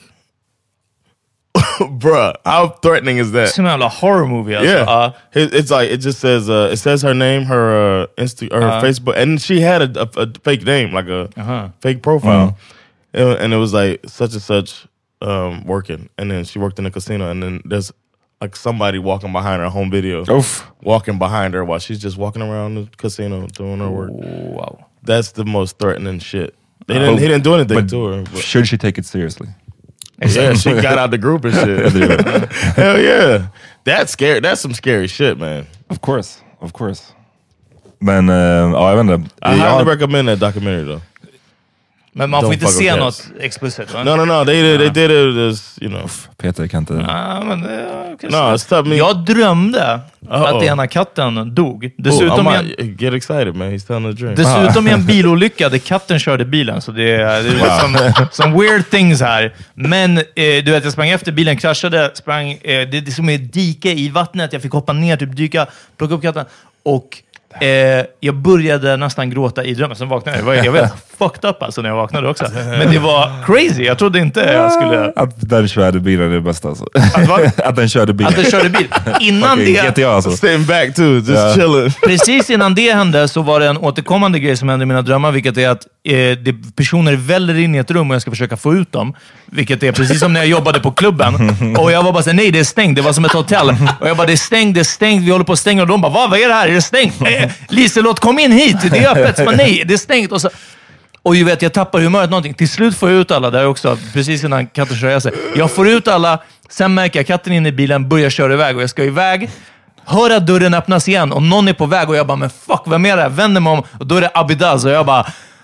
Bruh, how threatening is that? It's a like horror movie. Also. Yeah, uh, it, it's like it just says uh, it says her name, her uh, Insta, or her uh, Facebook, and she had a, a, a fake name, like a uh-huh. fake profile, uh-huh. and it was like such and such um, working, and then she worked in a casino, and then there's like somebody walking behind her home video, Oof. walking behind her while she's just walking around the casino doing her work. Wow, that's the most threatening shit. They didn't, he didn't do anything but to her. But. Should she take it seriously? Yeah, she got out the group and shit. Hell yeah. That's scary. That's some scary shit, man. Of course. Of course. Men, uh, ja, jag vet inte. I highly recommend that documentary though. Men man får inte se något explicit, va? No, no, no. They, they did it as, you know. Peter kan inte... Ah, men, okay, no, it's tough. Me. Jag drömde Uh-oh. att ena katten dog. Dessutom oh, en... Get excited, man. He's telling the dream. Dessutom i en bilolycka där katten körde bilen. Så det är, det är wow. som, som weird things här. Men eh, du vet, jag sprang efter bilen, kraschade, sprang... Eh, det, det är som ett dike i vattnet. Jag fick hoppa ner, typ dyka, plocka upp katten. Och... Eh, jag började nästan gråta i drömmen. Sen vaknade jag. Jag var helt fucked up alltså när jag vaknade också. Men det var crazy. Jag trodde inte jag skulle... Att den körde bilen är det bästa alltså. Att, att den körde bilen. Att den körde bil. Innan okay, det... G T A alltså. Staying back too, just yeah. chilling. Precis innan det hände så var det en återkommande grej som hände i mina drömmar. Vilket är att eh, det, personer väller in i ett rum och jag ska försöka få ut dem. Vilket är precis som när jag jobbade på klubben. Och jag var bara såhär, nej det är stängt. Det var som ett hotell. Och jag bara, det är stängt, det är stängt. Vi håller på att stänga. Och de bara, vad, vad är det här? Är det stängt? Liselott, kom in hit! Det är öppet! Så bara, nej, det är stängt! Och, så, och ju vet, jag tappar humöret någonting. Till slut får jag ut alla där också, precis innan katten kör sig. Jag får ut alla, sen märker jag katten in i bilen, börjar köra iväg och jag ska iväg. Hör att dörren öppnas igen och någon är på väg och jag bara, men fuck, vem är det? Vänder mig om och då är det Abidaz och jag bara,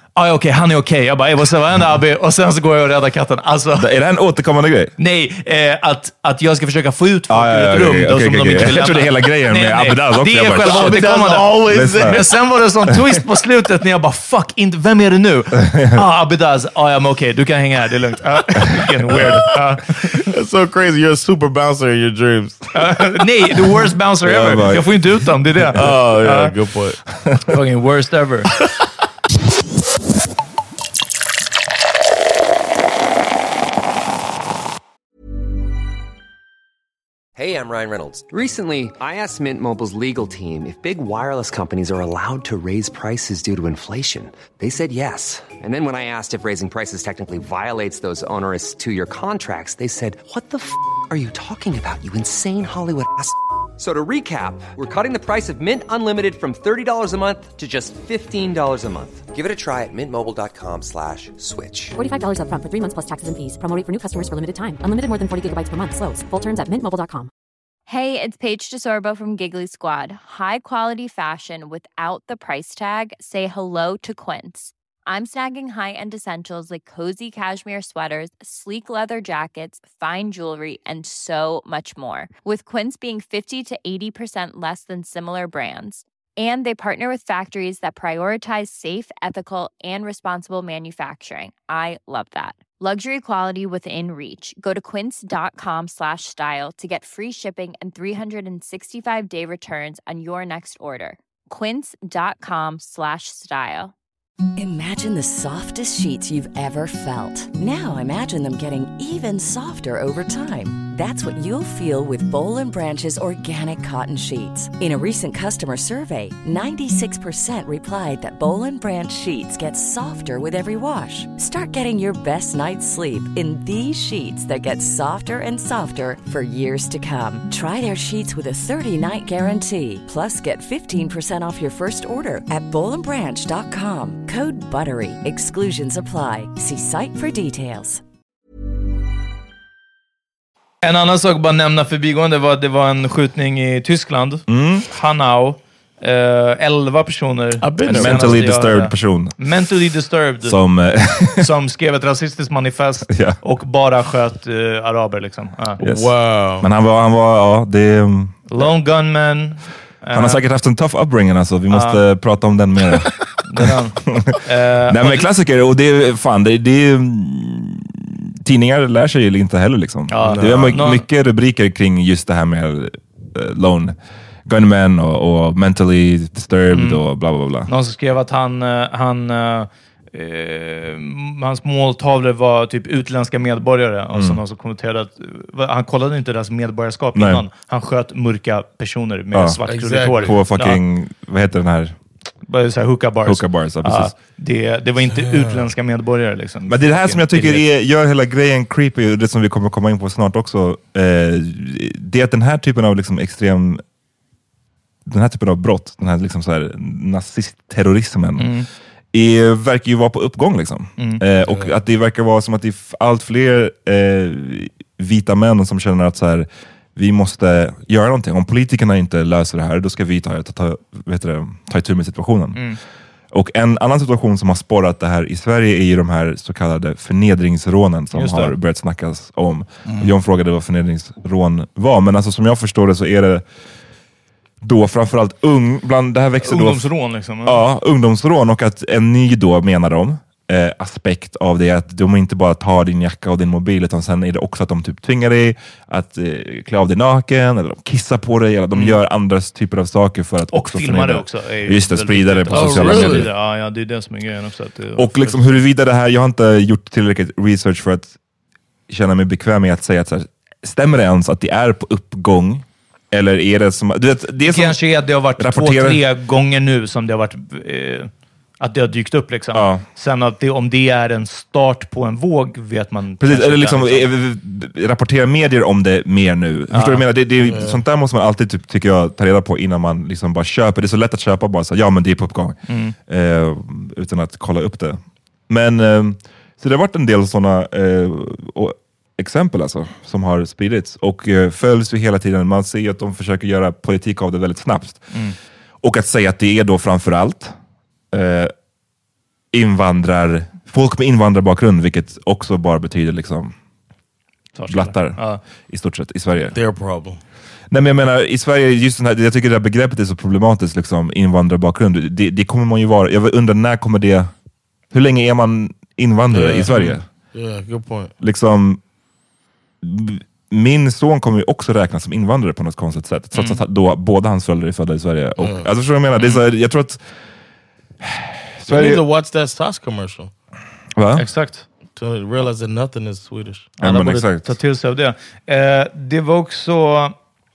ah, okej, okay, han är okej. Okay. Jag bara, vad säger Abby? Och sen så går jag och räddar katten. Alltså, är det en återkommande grej? Nej, eh, att, att jag ska försöka få ut folk ah, ur ja, ett rum okay, då, okay, som okay, de inte okay. vill lämna. Jag trodde hela grejen nej, med nej, Abedaz också. Det är själva återkommande. Men sen var det sån twist på slutet när jag bara, fuck, inte, vem är det nu? ah, Abedaz. Ah, ja, men okej, okay, du kan hänga här, det är lugnt. Uh, getting weird. Uh. That's so crazy, you're a super bouncer in your dreams. Uh, nej, the worst bouncer ever. Yeah, jag får inte ut dem, det är det. Oh, yeah, uh, good point. Fucking worst ever. Hey, I'm Ryan Reynolds. Recently, I asked Mint Mobile's legal team if big wireless companies are allowed to raise prices due to inflation. They said yes. And then when I asked if raising prices technically violates those onerous two-year contracts, they said, what the f*** are you talking about, you insane Hollywood ass f- So to recap, we're cutting the price of Mint Unlimited from thirty dollars a month to just fifteen dollars a month. Give it a try at mintmobile.com slash switch. forty-five dollars up front for three months plus taxes and fees. Promo rate for new customers for limited time. Unlimited more than forty gigabytes per month. Slows full terms at mint mobile dot com. Hey, it's Paige DeSorbo from Giggly Squad. High quality fashion without the price tag. Say hello to Quince. I'm snagging high-end essentials like cozy cashmere sweaters, sleek leather jackets, fine jewelry, and so much more. With Quince being fifty to eighty percent less than similar brands. And they partner with factories that prioritize safe, ethical, and responsible manufacturing. I love that. Luxury quality within reach. Go to quince.com slash style to get free shipping and three sixty-five day returns on your next order. Quince.com slash style. Imagine the softest sheets you've ever felt. Now imagine them getting even softer over time. That's what you'll feel with Boll and Branch's organic cotton sheets. In a recent customer survey, ninety-six percent replied that Boll and Branch sheets get softer with every wash. Start getting your best night's sleep in these sheets that get softer and softer for years to come. Try their sheets with a thirty-night guarantee. Plus, get fifteen percent off your first order at boll and branch dot com. Code BUTTERY. Exclusions apply. See site for details. En annan sak bara nämna förbigående var att det var en skjutning i Tyskland. Mm. Hanau. Uh, elva personer. Mentally disturbed person. Mentally disturbed. Som, uh, som skrev ett rasistiskt manifest yeah. och bara sköt uh, araber liksom. Uh. Yes. Wow. Men han var, han var ja, det... Um, Lone gunman. Han har säkert haft en tough upbringing alltså. Vi måste uh. prata om den mer. den. uh, Nej men klassiker, och det är fan, det, det är... Tidningar lär sig ju inte heller liksom. Ja, det är my- no. mycket rubriker kring just det här med uh, lone gunmen och, och mentally disturbed mm. och bla bla bla. Någon som skrev att han, han uh, uh, hans måltavlor var typ utländska medborgare och mm. så någon som kommenterade att uh, han kollade inte deras medborgarskap Nej. innan. Han sköt mörka personer med ja, svart krulligt hår. På fucking, ja. vad heter den här? Bara så här hookah bars. Hookah bars, ja, precis. Ja, det, det var inte utländska medborgare liksom. Men det är det här som jag tycker är, gör hela grejen creepy, det som vi kommer komma in på snart också. Eh, det är att den här typen av liksom extrem den här typen av brott, den här liksom så här nazistterrorismen mm. är, verkar ju vara på uppgång liksom. Mm. Eh, och att det verkar vara som att det är allt fler eh, vita män som känner att så här, vi måste göra någonting. Om politikerna inte löser det här, då ska vi ta, ta, ta, vet du, ta itu med situationen. Mm. Och en annan situation som har spårat det här i Sverige är ju de här så kallade förnedringsrånen som har börjat snackas om. Mm. John frågade vad förnedringsrån var, men alltså som jag förstår det så är det då framförallt ung, bland det här växer ungdomsrån då, liksom. Ja, ungdomsrån, och att en ny då menar de eh, aspekt av det att de inte bara tar din jacka och din mobil, utan sen är det också att de typ tvingar dig att eh, klä av dig naken, eller de kissar på dig, eller de mm. gör andra typer av saker för att och också filma det också. Just det, sprida det på oh, sociala really? medier. Ja, ja, det är det som är grejen också. Att det, och liksom huruvida det här, jag har inte gjort tillräckligt research för att känna mig bekväm med att säga att så här, stämmer det ens att det är på uppgång? Eller är det som... Du vet, det är som kanske är att det har varit rapporterar... två, tre gånger nu som det har varit... Eh, att det har dykt upp liksom. Ja. Sen att det, om det är en start på en våg vet man... Precis, eller liksom, liksom. Rapporterar medier om det mer nu. Ja. Förstår du vad jag menar? Det, det, mm. Sånt där måste man alltid, typ, tycker jag, ta reda på innan man liksom bara köper. Det är så lätt att köpa bara så, ja men det är på uppgång. Mm. Eh, utan att kolla upp det. Men, eh, så det har varit en del sådana... Eh, och, exempel alltså, som har spridits och uh, följs ju hela tiden. Man ser att de försöker göra politik av det väldigt snabbt. Mm. Och att säga att det är då framförallt uh, invandrar, folk med invandrarbakgrund, vilket också bara betyder liksom blattar ja. i stort sett i Sverige. Their problem. Nej, men jag menar, i Sverige, just den här, jag tycker det här begreppet är så problematiskt, liksom, invandrarbakgrund. Det, det kommer man ju vara, jag undrar när kommer det, hur länge är man invandrare yeah. i Sverige? Yeah, good point. Liksom, min son kommer ju också räknas som invandrare på något konstigt sätt, trots mm. att då båda hans föräldrar är födda i Sverige. Och, mm. alltså, så jag menar, det är så, jag tror att Sverige... You need to watch that Stas commercial. Va? Exakt. To realize that nothing is Swedish. Ja, men exakt. Ta till sig av det. Eh, det var också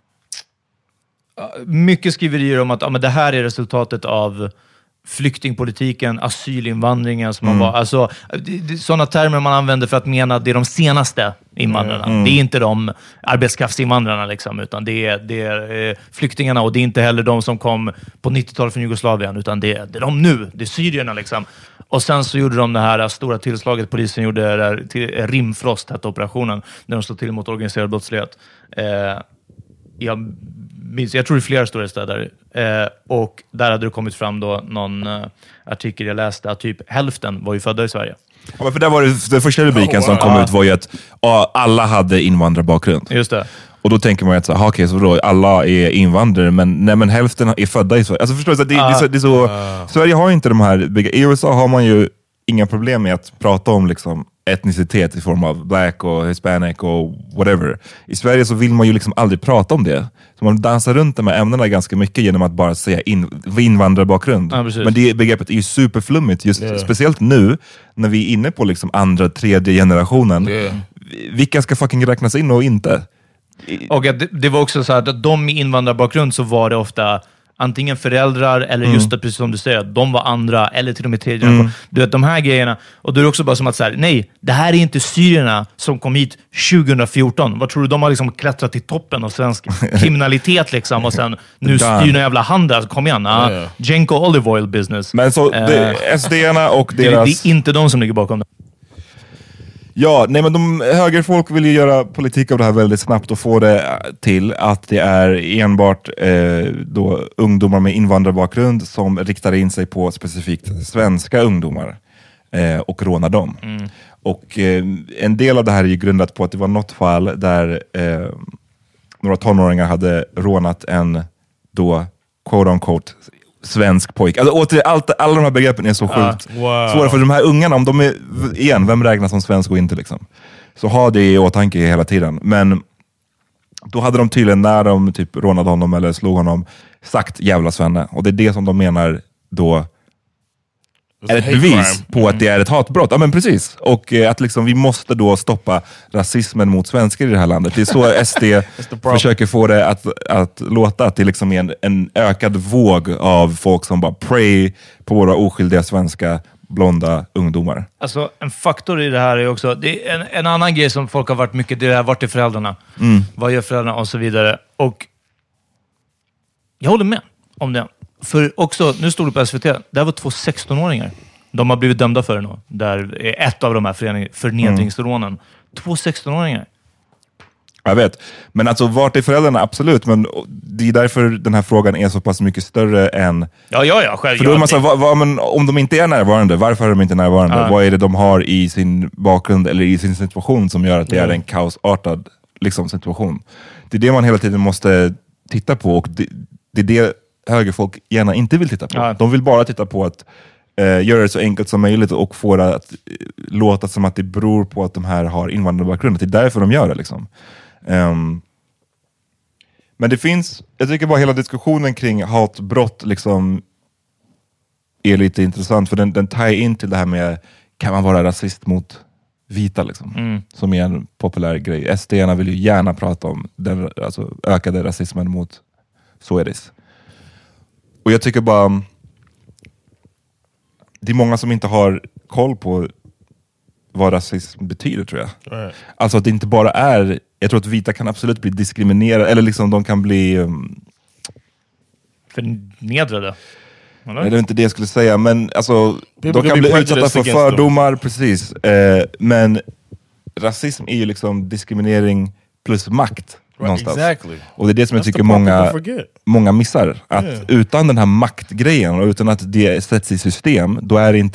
mycket skriverier om att ja, men det här är resultatet av flyktingpolitiken, asylinvandringen som mm. man var, alltså sådana termer man använder för att mena att det är de senaste invandrarna. Mm. Det är inte de arbetskraftsinvandrarna liksom, utan det är, det är eh, flyktingarna, och det är inte heller de som kom på nittiotalet från Jugoslavien, utan det är, det är de nu, det är syrierna liksom. Och sen så gjorde de det här stora tillslaget, polisen gjorde det där, till, Rimfrost hette operationen, när de slog till mot organiserad brottslighet. Eh, jag minns, jag tror det är flera stora städer. Eh, och där hade det kommit fram då någon eh, artikel jag läste att typ hälften var ju födda i Sverige. Ja, för där var det, den första rubriken oh, wow. som kom ut var ju att ja, alla hade invandrarbakgrund. Just det. Och då tänker man ju att så, okay, så då, alla är invandrare, men, nej, men hälften är födda i Sverige. Alltså förstår du, så det, ah. det, är så, det är så, Ah. Sverige har inte de här, i U S A har man ju inga problem med att prata om liksom etnicitet i form av black och hispanic och whatever. I Sverige så vill man ju liksom aldrig prata om det. Så man dansar runt de här ämnena ganska mycket genom att bara säga in, invandrarbakgrund. Ja, men det begreppet är ju superflummigt, just yeah. speciellt nu när vi är inne på liksom andra, tredje generationen. Yeah. Vilka ska fucking räknas in och inte? Och det, det var också så här att de med invandrarbakgrund så var det ofta antingen föräldrar eller Mm. just det, precis som du säger, att de var andra eller till och med tredje. Mm. Du vet, de här grejerna. Och då är det också bara som att så här, nej, det här är inte syrierna som kom hit tjugohundrafjorton. Vad tror du? De har liksom klättrat till toppen av svensk kriminalitet liksom, och sen nu styr någon jävla handel. Kom igen, ah, Yeah. Genco Olive Oil Business. Men så Eh, det, S D-arna och det, deras... det är inte de som ligger bakom det. Ja, nej men de högerfolk vill ju göra politik av det här väldigt snabbt och få det till att det är enbart eh, då ungdomar med invandrarbakgrund som riktar in sig på specifikt svenska ungdomar eh, och rånar dem. Mm. Och eh, en del av det här är ju grundat på att det var något fall där eh, några tonåringar hade rånat en då quote on quote svensk pojk. Alltså återigen, allt, alla de här begreppen är så sjukt Ah, wow. svåra för de här ungarna, om de är, igen, vem räknas som svensk och inte liksom. Så ha det i åtanke hela tiden. Men då hade de tydligen, när de typ rånade honom eller slog honom, sagt jävla svenne. Och det är det som de menar då är ett bevis på att det är ett hatbrott. Ja men precis. Och eh, att liksom vi måste då stoppa rasismen mot svenskar i det här landet. Det är så S D försöker få det att, att låta, att det liksom är en, en ökad våg av folk som bara pray på våra oskyldiga svenska blonda ungdomar. Alltså en faktor i det här är också, det är en, en annan grej som folk har varit mycket, det är vart är föräldrarna? Mm. Vad gör föräldrarna? Och så vidare. Och jag håller med om det. För också, nu stod det på S V T, där var två sexton-åringar. De har blivit dömda för det nu. Där är ett av de här föreningarna, förnedringsrånen. Mm. Två sexton-åringar. Jag vet. Men alltså, vart är föräldrarna? Absolut. Men det är därför den här frågan är så pass mycket större än... Ja, ja, ja. Själv, för då är man så här, vad, vad, men om de inte är närvarande, varför är de inte närvarande? Ja. Vad är det de har i sin bakgrund eller i sin situation som gör att det Mm. är en kaosartad liksom, situation? Det är det man hela tiden måste titta på, och det, det är det högerfolk gärna inte vill titta på. Ja. De vill bara titta på att eh, göra det så enkelt som möjligt och få det att eh, låta som att det beror på att de här har invandrarbakgrund. Det är därför de gör det liksom. Um, men det finns, jag tycker bara hela diskussionen kring hatbrott liksom är lite intressant, för den, den tar in till det här med, kan man vara rasist mot vita liksom, Mm. som är en populär grej. S D-arna vill ju gärna prata om den alltså, ökade rasismen mot Swedish. Och jag tycker bara det är många som inte har koll på vad rasism betyder, tror jag. Right. Alltså att det inte bara är, jag tror att vita kan absolut bli diskriminerade, eller liksom de kan bli um, Förnedrade. Eller? nej, det är inte det jag skulle säga, men alltså de can kan be bli utsatta prejudiced för against them. fördomar, precis. Eh, men rasism är ju liksom diskriminering plus makt någonstans. Exactly. Och det är det som jag That's the tycker part många, people forget. många missar. Att Yeah. utan den här maktgrejen och utan att det sätts i system, då är det inte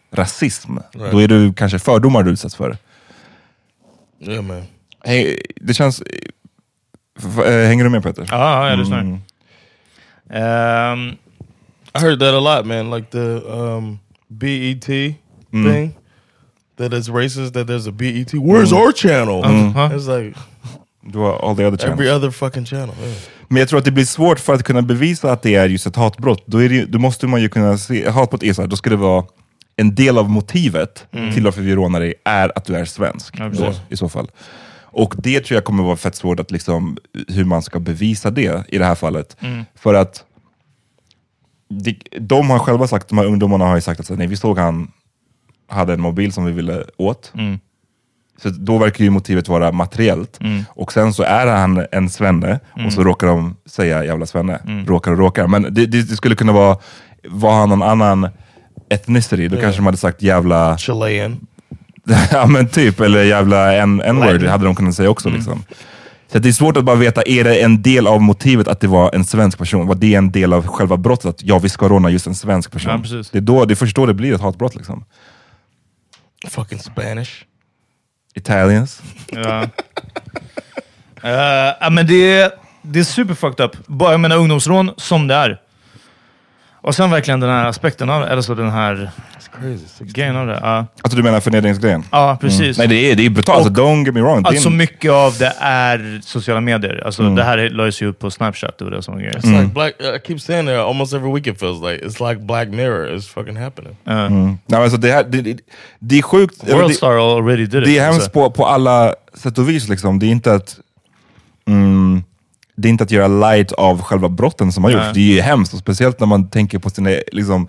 rasism. Right. Då är du kanske fördomar du utsätts för. Yeah, man. Hey, det känns... F- äh, hänger du med, Peter? Ja, jag lyssnar. Mm. Um, I heard that a lot, man. Like the um, B E T Mm. thing. That it's racist that there's a B E T. Where's our channel? Mm. It's like Du har all the other channels. every other fucking channel. Yeah. Men jag tror att det blir svårt för att kunna bevisa att det är just ett hatbrott. Då, är det, ju- då måste man ju kunna se... Hatbrott är så här, då ska det vara... En del av motivet till varför vi rånar dig är att du är svensk. Ja, då, precis. i så fall. Och det tror jag kommer vara fett svårt att liksom, hur man ska bevisa det i det här fallet. För att de, de har själva sagt, de här ungdomarna har ju sagt att så, nej, vi såg han hade en mobil som vi ville åt. Mm. Så då verkar ju motivet vara materiellt. Mm. Och sen så är han en svenne Mm. och så råkar de säga jävla svenne. Mm. Råkar och råkar. Men det, det, det skulle kunna vara, var han någon annan ethnicity, då Ja. kanske de hade sagt jävla... Chilean. Ja men typ, eller jävla en- n-word Latin. hade de kunnat säga också. Liksom. Så att det är svårt att bara veta, är det en del av motivet att det var en svensk person? Var det en del av själva brottet? Att ja, vi ska råna just en svensk person. Ja, precis. det, är då, det är först då det blir ett hatbrott. Liksom. Fucking Spanish. Italians. Ja. Uh, ja, men det är, det är super fucked up. Bara, jag menar ungdomsrån som det är. Och sen verkligen den här aspekten av, eller så den här grejen av det. Ja, Alltså du menar förnedringsgrejen? ja precis. Nej, det är, det är brutalt. Alltså, don't get me wrong. Det är Alltså en- mycket av det är sociala medier. Alltså Mm. det här lades ju upp på Snapchat. Det var det som var grejen. It's like black. I keep saying that almost every week. It feels like it's like Black Mirror is fucking happening. Mm. Nej, alltså, det, här, det, det, det är sjukt. eller Worldstar det, already did it. det är hemskt alltså. på, på alla sätt och vis. Liksom. Det är inte att... Mm, det är inte att göra light av själva brotten som har gjorts. Nej. Det är ju hemskt, och speciellt när man tänker på sina liksom,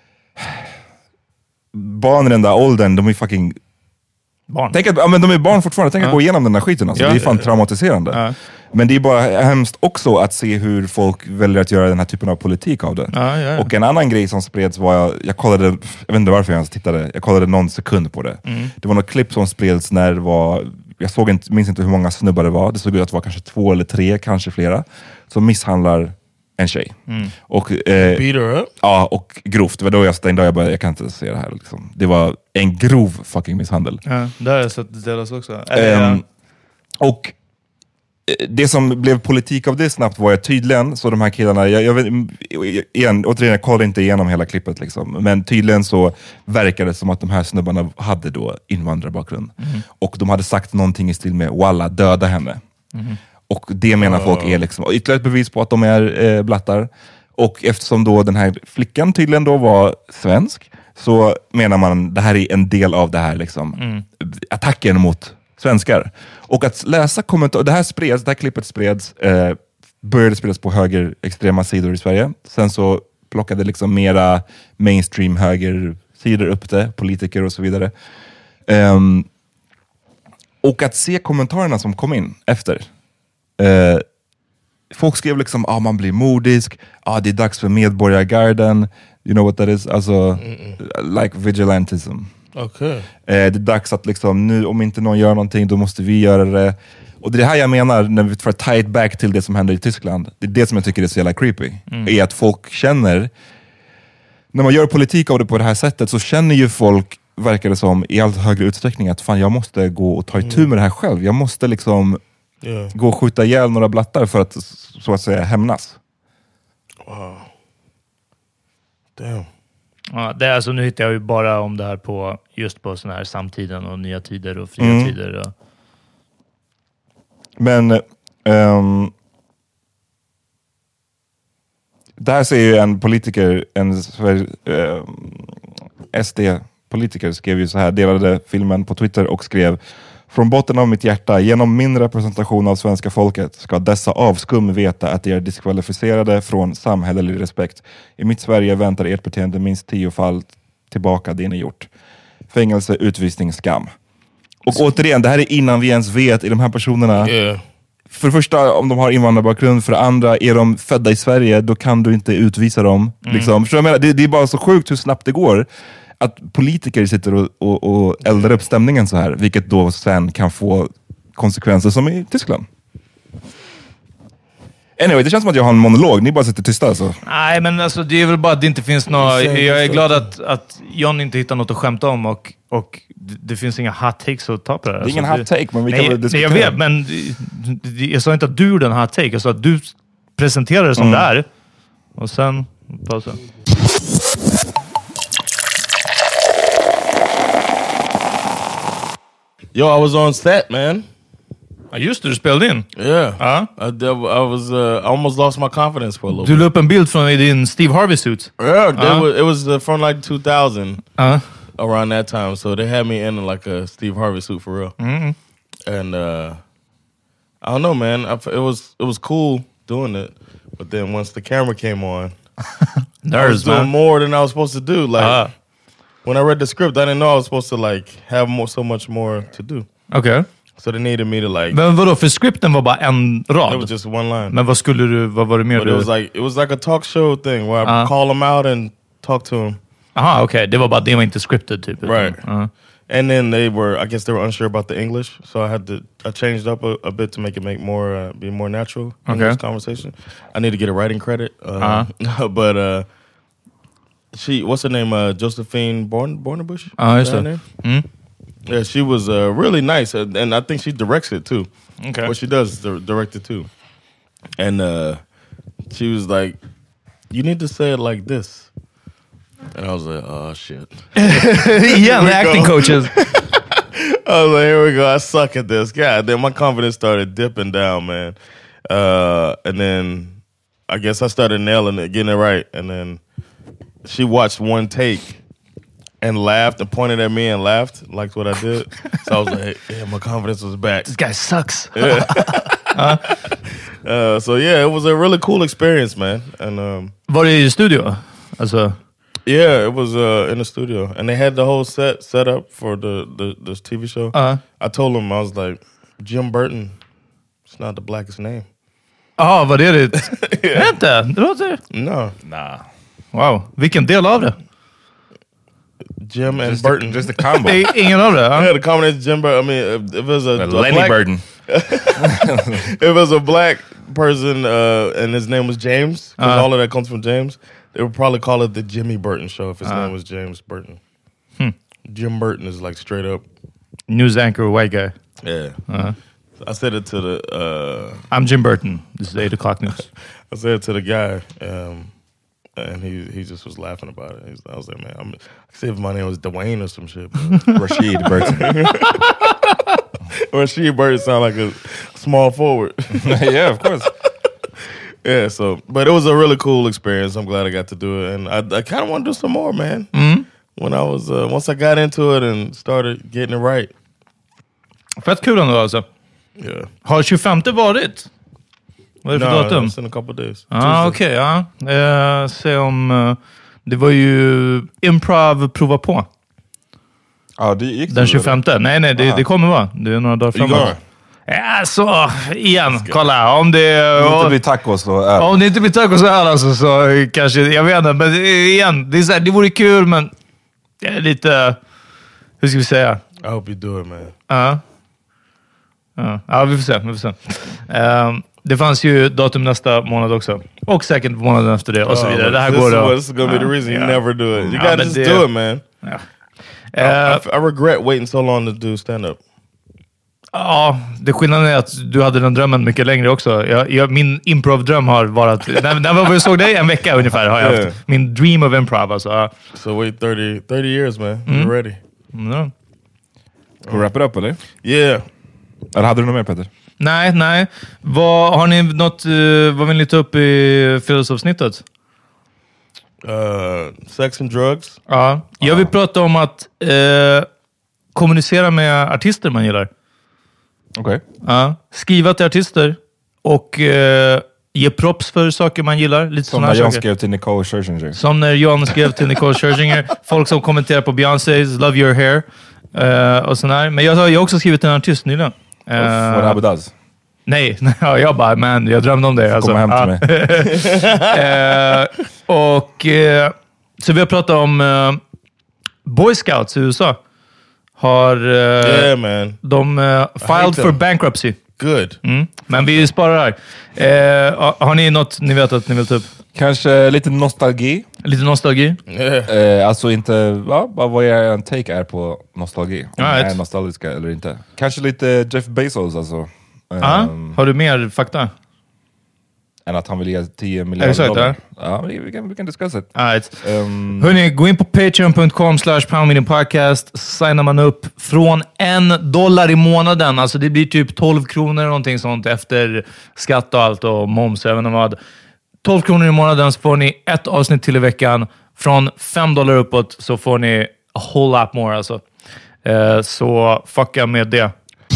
barn i den där åldern, de är fucking... Barn. Tänk att, ja, men de är barn fortfarande, tänk att Ja. gå igenom den här skiten. Alltså. Ja. Det är fan traumatiserande. Ja. Men det är bara hemskt också att se hur folk väljer att göra den här typen av politik av det. Ja, ja, ja. Och en annan grej som spreds var, jag, jag kollade, jag vet inte varför jag ens tittade, jag kollade någon sekund på det. Mm. Det var något klipp som spreds när det var, jag såg inte, minns inte hur många snubbar det var, det såg ut att det var kanske två eller tre, kanske flera, som misshandlar en tjej. Mm. Och, eh, Beat her up. ja, och grovt. Det var då jag stängde av, jag bara, jag kan inte se det här. Liksom. Det var en grov fucking misshandel. Ja, där har jag sett delas också. Eller, Ehm, och eh, det som blev politik av det snabbt var ju tydligen, så de här killarna, jag, jag vet, igen, återigen, jag kollade inte igenom hela klippet, liksom, men tydligen så verkade det som att de här snubbarna hade då invandrarbakgrund. Mhm. Och de hade sagt någonting i stil med, walla, döda henne. Mhm. Och det menar folk är liksom ytterligare ett bevis på att de är eh, blattar. Och eftersom då den här flickan tydligen då var svensk, så menar man det här är en del av det här liksom, Mm. attacken mot svenskar. Och att läsa kommentarer, det här spreds, det här klippet spreds, eh, började spridas på högerextrema sidor i Sverige. Sen så plockade liksom mera mainstream högersidor upp det, politiker och så vidare. Ehm, och att se kommentarerna som kom in efter. Eh, folk skrev liksom, ah, man blir modisk, ah, det är dags för medborgargarden, you know what that is? Alltså, like vigilantism. Okay. Eh, det är dags att liksom, nu om inte någon gör någonting, då måste vi göra det. Och det är det här jag menar, när vi får tie it back till det som händer i Tyskland. Det är det som jag tycker är så jävla creepy. Mm. Är att folk känner, när man gör politik av det på det här sättet, så känner ju folk, verkar det som, i allt högre utsträckning att fan, jag måste gå och ta itu med det här själv. Jag måste liksom Yeah. gå och skjuta ihjäl några blattar för att så att säga hämnas. Wow. Damn. Ja, det är alltså, nu hittar jag ju bara om det här på just på sån här samtiden och nya tider och fria Mm. tider. Och... Men ehm, där ser ju en politiker, en Sver- ehm, S D-politiker skrev ju så här, delade filmen på Twitter och skrev: från botten av mitt hjärta, genom min representation av svenska folket ska dessa avskum veta att de är diskvalificerade från samhällelig respekt. I mitt Sverige väntar ert beteende minst tio fall tillbaka det ni gjort. Fängelse, utvisning, skam. Och återigen, det här är innan vi ens vet, i de här personerna, Yeah. för det första om de har invandrarbakgrund, för det andra är de födda i Sverige, då kan du inte utvisa dem. Mm. Liksom. För jag menar, det, det är bara så sjukt hur snabbt det går att politiker sitter och, och, och eldar upp stämningen så här, vilket då sen kan få konsekvenser som i Tyskland. Anyway, det känns som att jag har en monolog. Ni bara sitter tysta alltså. Nej, men alltså, det är väl bara att det inte finns något... Jag är glad att, att John inte hittar något att skämta om och, och det finns inga hot takes att ta på det här. Det är ingen alltså, hot take, men vi nej, kan väl diskutera. Nej, jag vet, men jag sa inte att du gjorde en hot take. Jag sa att du presenterar det som mm. det är. Och sen... Pausa. Yo, I was on set, man. Ja, just det, du spelade in. Yeah. Uh? I, I was uh, I almost lost my confidence for a little du bit. Du la upp en bild från din Steve Harvey suit. Yeah, uh? was, it was uh, from like two thousand. Uh? Around that time. So they had me in like a Steve Harvey suit for real. Mm-hmm. And uh, I don't know, man. I, it was it was cool doing it. But then once the camera came on, Nerves, I was doing man. more than I was supposed to do. Like uh. when I read the script, I didn't know I was supposed to like have more, so much more to do. Okay. So they needed me to like... Men vadå, för scripten var bara en rad? It was just one line. Men vad skulle du, vad var det mer? But it was like it was like a talk show thing where I uh. call them out and talk to them. Aha, okej. Okay. Det var bara, det var inte scripted typ. Right. Uh. And then they were, I guess they were unsure about the English. So I had to, I changed up a, a bit to make it make more, uh, be more natural in okay. this conversation. I need to get a writing credit. Uh, uh-huh. But uh, she, what's her name? Uh, Josephine Born, Bornebush? Oh, uh, is that her name? Yeah, she was uh, really nice. And, and I think she directs it too. Okay. What she does is direct it too. And uh, she was like, you need to say it like this. And I was like, oh, shit. Yeah, the acting go. coaches. I was like, here we go. I suck at this. God, then my confidence started dipping down, man. Uh, and then I guess I started nailing it, getting it right. And then she watched one take and laughed and pointed at me and laughed, liked what I did. So I was like, yeah, my confidence was back. This guy sucks. Yeah. uh, uh, so yeah, it was a really cool experience, man. And um, var det i studio? Alltså... Yeah, it was uh, in the studio, and they had the whole set set up for the the this T V show. Uh-huh. I told them, I was like, Jim Burton, it's not the blackest name. Ja, vad är det? Yeah. Inte? Det låter... No. Nah. Wow. Vilken del av det? Jim and just Burton. The, just the combo. Ingen av det? Huh? Yeah, the combination Jim Burton. I mean, if it was a, a Lenny black, Burton. if it was a black person uh, and his name was James, because uh-huh. all of that comes from James, they would probably call it the Jimmy Burton Show if his uh-huh. name was James Burton. Hmm. Jim Burton is like straight up news anchor white guy. Yeah. Uh-huh. I said it to the... Uh, I'm Jim Burton. This is eight o'clock news. I said it to the guy, um, and he he just was laughing about it. He's, I was like, man, I'm, I said if my name was Dwayne or some shit. Rashid Burton. Rashid Burton sound like a small forward. Yeah, of course. Yeah, so, but it was a really cool experience. I'm glad I got to do it. And I, I kind of want to do some more, man. Mm. When I was, uh, once I got into it and started getting it right. Fett kul ändå alltså. Yeah. Har tjugofemte varit? Vad är det för no, datum? It's in a couple of days. Ah, okej, okay, ja. Uh, se om... Uh, det var ju improv prova på. Ja, det gick den tjugofemte. Nej, nej, det, det kommer vara. Det är några dagar framåt. Ja, så igen. Kolla, om det... Om det inte blir tacos så öl. Om det inte blir tacos så öl alltså, så kanske... Jag vet inte, men igen. Det, är så här, det vore kul, men... Det är lite... Hur ska vi säga? I hope you do it, man. Ja. Uh. Ja, ja, vi får se. Vi får se. Um, det fanns ju datum nästa månad också. Och säkert månaden efter det och så vidare. Oh, det här this går då. This is gonna be the reason you yeah. never do it. You ja, gotta just det, do it, man. Ja. Uh, I, I regret waiting so long to do stand-up. Ja, det skillnaden är att du hade den drömmen mycket längre också. Jag, jag, min improv-dröm har varit... när, när vi såg dig en vecka ungefär har jag yeah. haft min dream of improv. Alltså. So wait thirty, thirty years, man. Mm. You're ready. Mm. Ska du wrap it up, eller? Yeah. Eller hade du något mer, Peter? Nej, nej. Vad, har ni något... Uh, vad vill ni ta upp i fredagsavsnittet? Uh, sex and drugs. Ja. Jag vill uh. prata om att uh, kommunicera med artister man gillar. Okej. Okay. Ja. Skriva till artister och uh, ge props för saker man gillar. Lite som när John skrev till Nicole Scherzinger. Som när John skrev till Nicole Scherzinger. Folk som kommenterar på Beyoncé's Love Your Hair. Uh, och sån här. Men jag har ju också skrivit till en artist nyligen. Uh, What Abu does? Nej, jag bara, man, jag drömde om det. Alltså. Komma hem till mig. uh, och uh, så vi har pratat om uh, Boy Scouts i U S A. Har uh, yeah, man. de uh, filed for bankruptcy. Good. Mm. Men vi sparar här. Eh, har ni något ni vet att ni vill ta upp? Kanske lite nostalgi. Lite nostalgi? Yeah. Eh, alltså inte, ja, bara vad jag en take är på nostalgi. Om right. är nostalgiska eller inte. Kanske lite Jeff Bezos alltså. Ja, um, har du mer fakta? Än att han vill ge tio miljarder Exakt, dollar. Ja, ja vi, vi, kan, vi kan discussa det. Right. Um, Hörrni, gå in på patreon dot com slash poundmeeting podcast. Signar man upp från en dollar i månaden. Alltså det blir typ tolv kronor eller någonting sånt efter skatt och allt och moms. Jag vet inte vad. tolv kronor i månaden så får ni ett avsnitt till i veckan. Från fem dollar uppåt så får ni a whole lot more alltså. Uh, så fucka med det.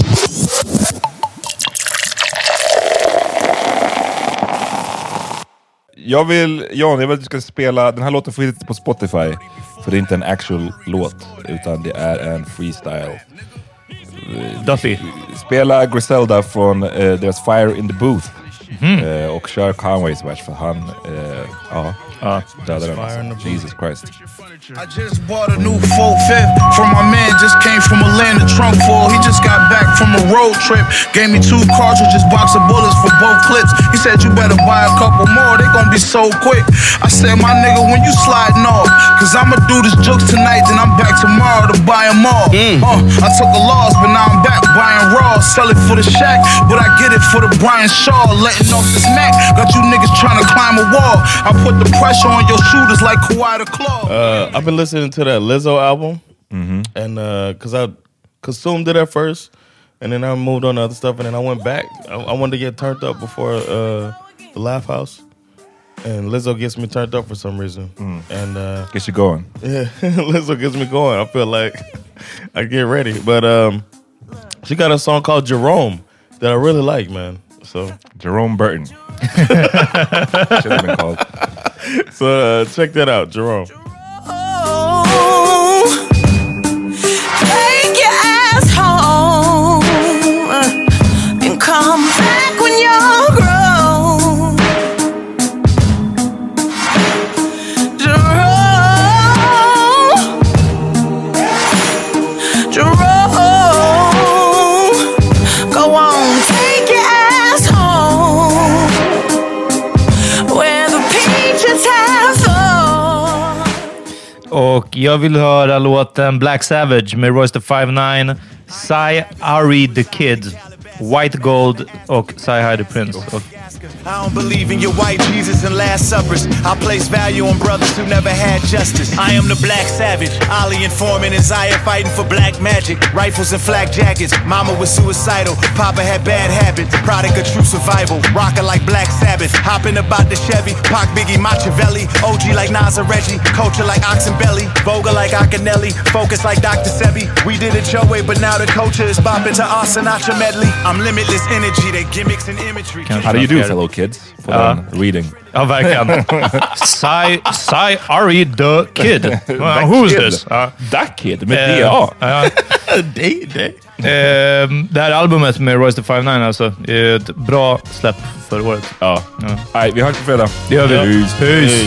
Jag vill, Jan, jag vill att du ska spela, den här låten får inte på Spotify. För det är inte en actual låt, utan det är en freestyle. Duffy. Spela Griselda från uh, deras Fire in the Booth. Mm. Uh, och kör Conways vers för han, uh, ja, uh, dödade den alltså. Jesus Christ. I just bought a new four fifth from my man, just came from Atlanta, trunk full. He just got back from a road trip. Gave me two cartridges, box of bullets for both clips. He said, you better buy a couple more, they gonna be so quick. I said, my nigga, when you sliding off, cause I'ma do this jokes tonight, then I'm back tomorrow to buy them all. Mm. Uh, I took a loss, but now I'm back buying raw. Sell it for the shack, but I get it for the Brian Shaw. Letting off this Mac, got you niggas trying to climb a wall. I put the pressure on your shooters like Kawhi the Claw. Uh, I've been listening to that Lizzo album, mm-hmm. and uh, cause I consumed it at first, and then I moved on to other stuff, and then I went back. I, I wanted to get turned up before uh, the Laugh House, and Lizzo gets me turned up for some reason, mm. and uh, gets you going. Yeah, Lizzo gets me going. I feel like I get ready, but um, she got a song called Jerome that I really like, man. So Jerome Burton. Should have been called. So uh, check that out, Jerome. Take your ass home and come back when you're grown. Jerome, Jerome, go on, take your ass home where the peaches have fallen. Och jag vill höra låten Black Savage med Royce the five nine, Cy Ari the Kid, White Gold och Cy Hi the Prince. Och I don't believe in your white Jesus and Last Suppers. I place value on brothers who never had justice. I am the Black Savage. Ali and Foreman and Zaya fighting for black magic. Rifles and flak jackets. Mama was suicidal. Papa had bad habits. Product of true survival. Rockin' like Black Sabbath. Hopping about the Chevy. Pac, Biggie, Machiavelli. O G like Nas and Reggie. Culture like Oxenbelly. Vogue like Akinelli. Focus like Doctor Sebi. We did it your way, but now the culture is bopping to our Sinatra medley. I'm limitless energy. They gimmicks and imagery. How do you do, fellow kids? For uh, reading. Ja, verkligen. Cy, Cy Ari the Kid. Uh, who is this? Uh, That Kid med D A. Day, day. Uh, det här albumet med Royce the five nine alltså, är ett bra släpp förra året. Ja. ja. Nej, vi hörs på fredag. Det gör vi. Peace. Peace.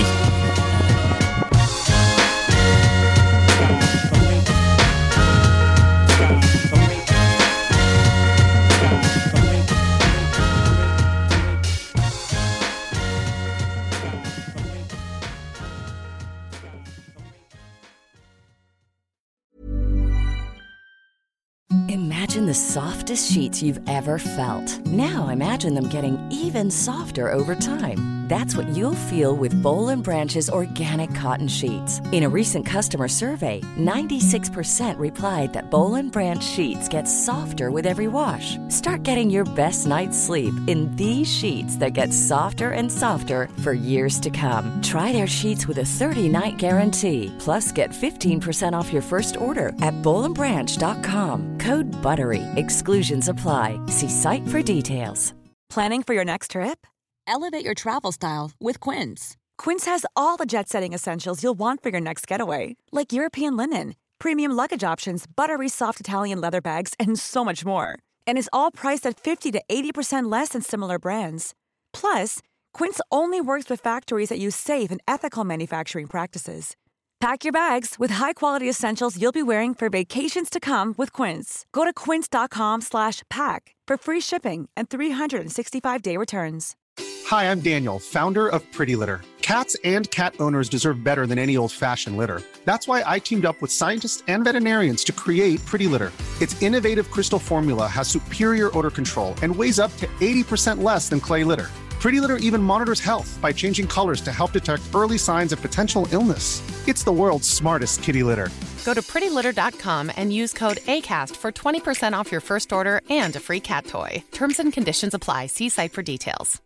Imagine the softest sheets you've ever felt. Now imagine them getting even softer over time. That's what you'll feel with Boll and Branch's organic cotton sheets. In a recent customer survey, ninety-six percent replied that Boll and Branch sheets get softer with every wash. Start getting your best night's sleep in these sheets that get softer and softer for years to come. Try their sheets with a thirty-night guarantee. Plus, get fifteen percent off your first order at boll and branch dot com. Code BUTTERY. Exclusions apply. See site for details. Planning for your next trip? Elevate your travel style with Quince. Quince has all the jet-setting essentials you'll want for your next getaway, like European linen, premium luggage options, buttery soft Italian leather bags, and so much more. And is all priced at fifty to eighty percent less than similar brands. Plus, Quince only works with factories that use safe and ethical manufacturing practices. Pack your bags with high-quality essentials you'll be wearing for vacations to come with Quince. Go to quince.com slash pack for free shipping and three sixty-five day returns. Hi, I'm Daniel, founder of Pretty Litter. Cats and cat owners deserve better than any old-fashioned litter. That's why I teamed up with scientists and veterinarians to create Pretty Litter. Its innovative crystal formula has superior odor control and weighs up to eighty percent less than clay litter. Pretty Litter even monitors health by changing colors to help detect early signs of potential illness. It's the world's smartest kitty litter. Go to pretty litter dot com and use code ACAST for twenty percent off your first order and a free cat toy. Terms and conditions apply. See site for details.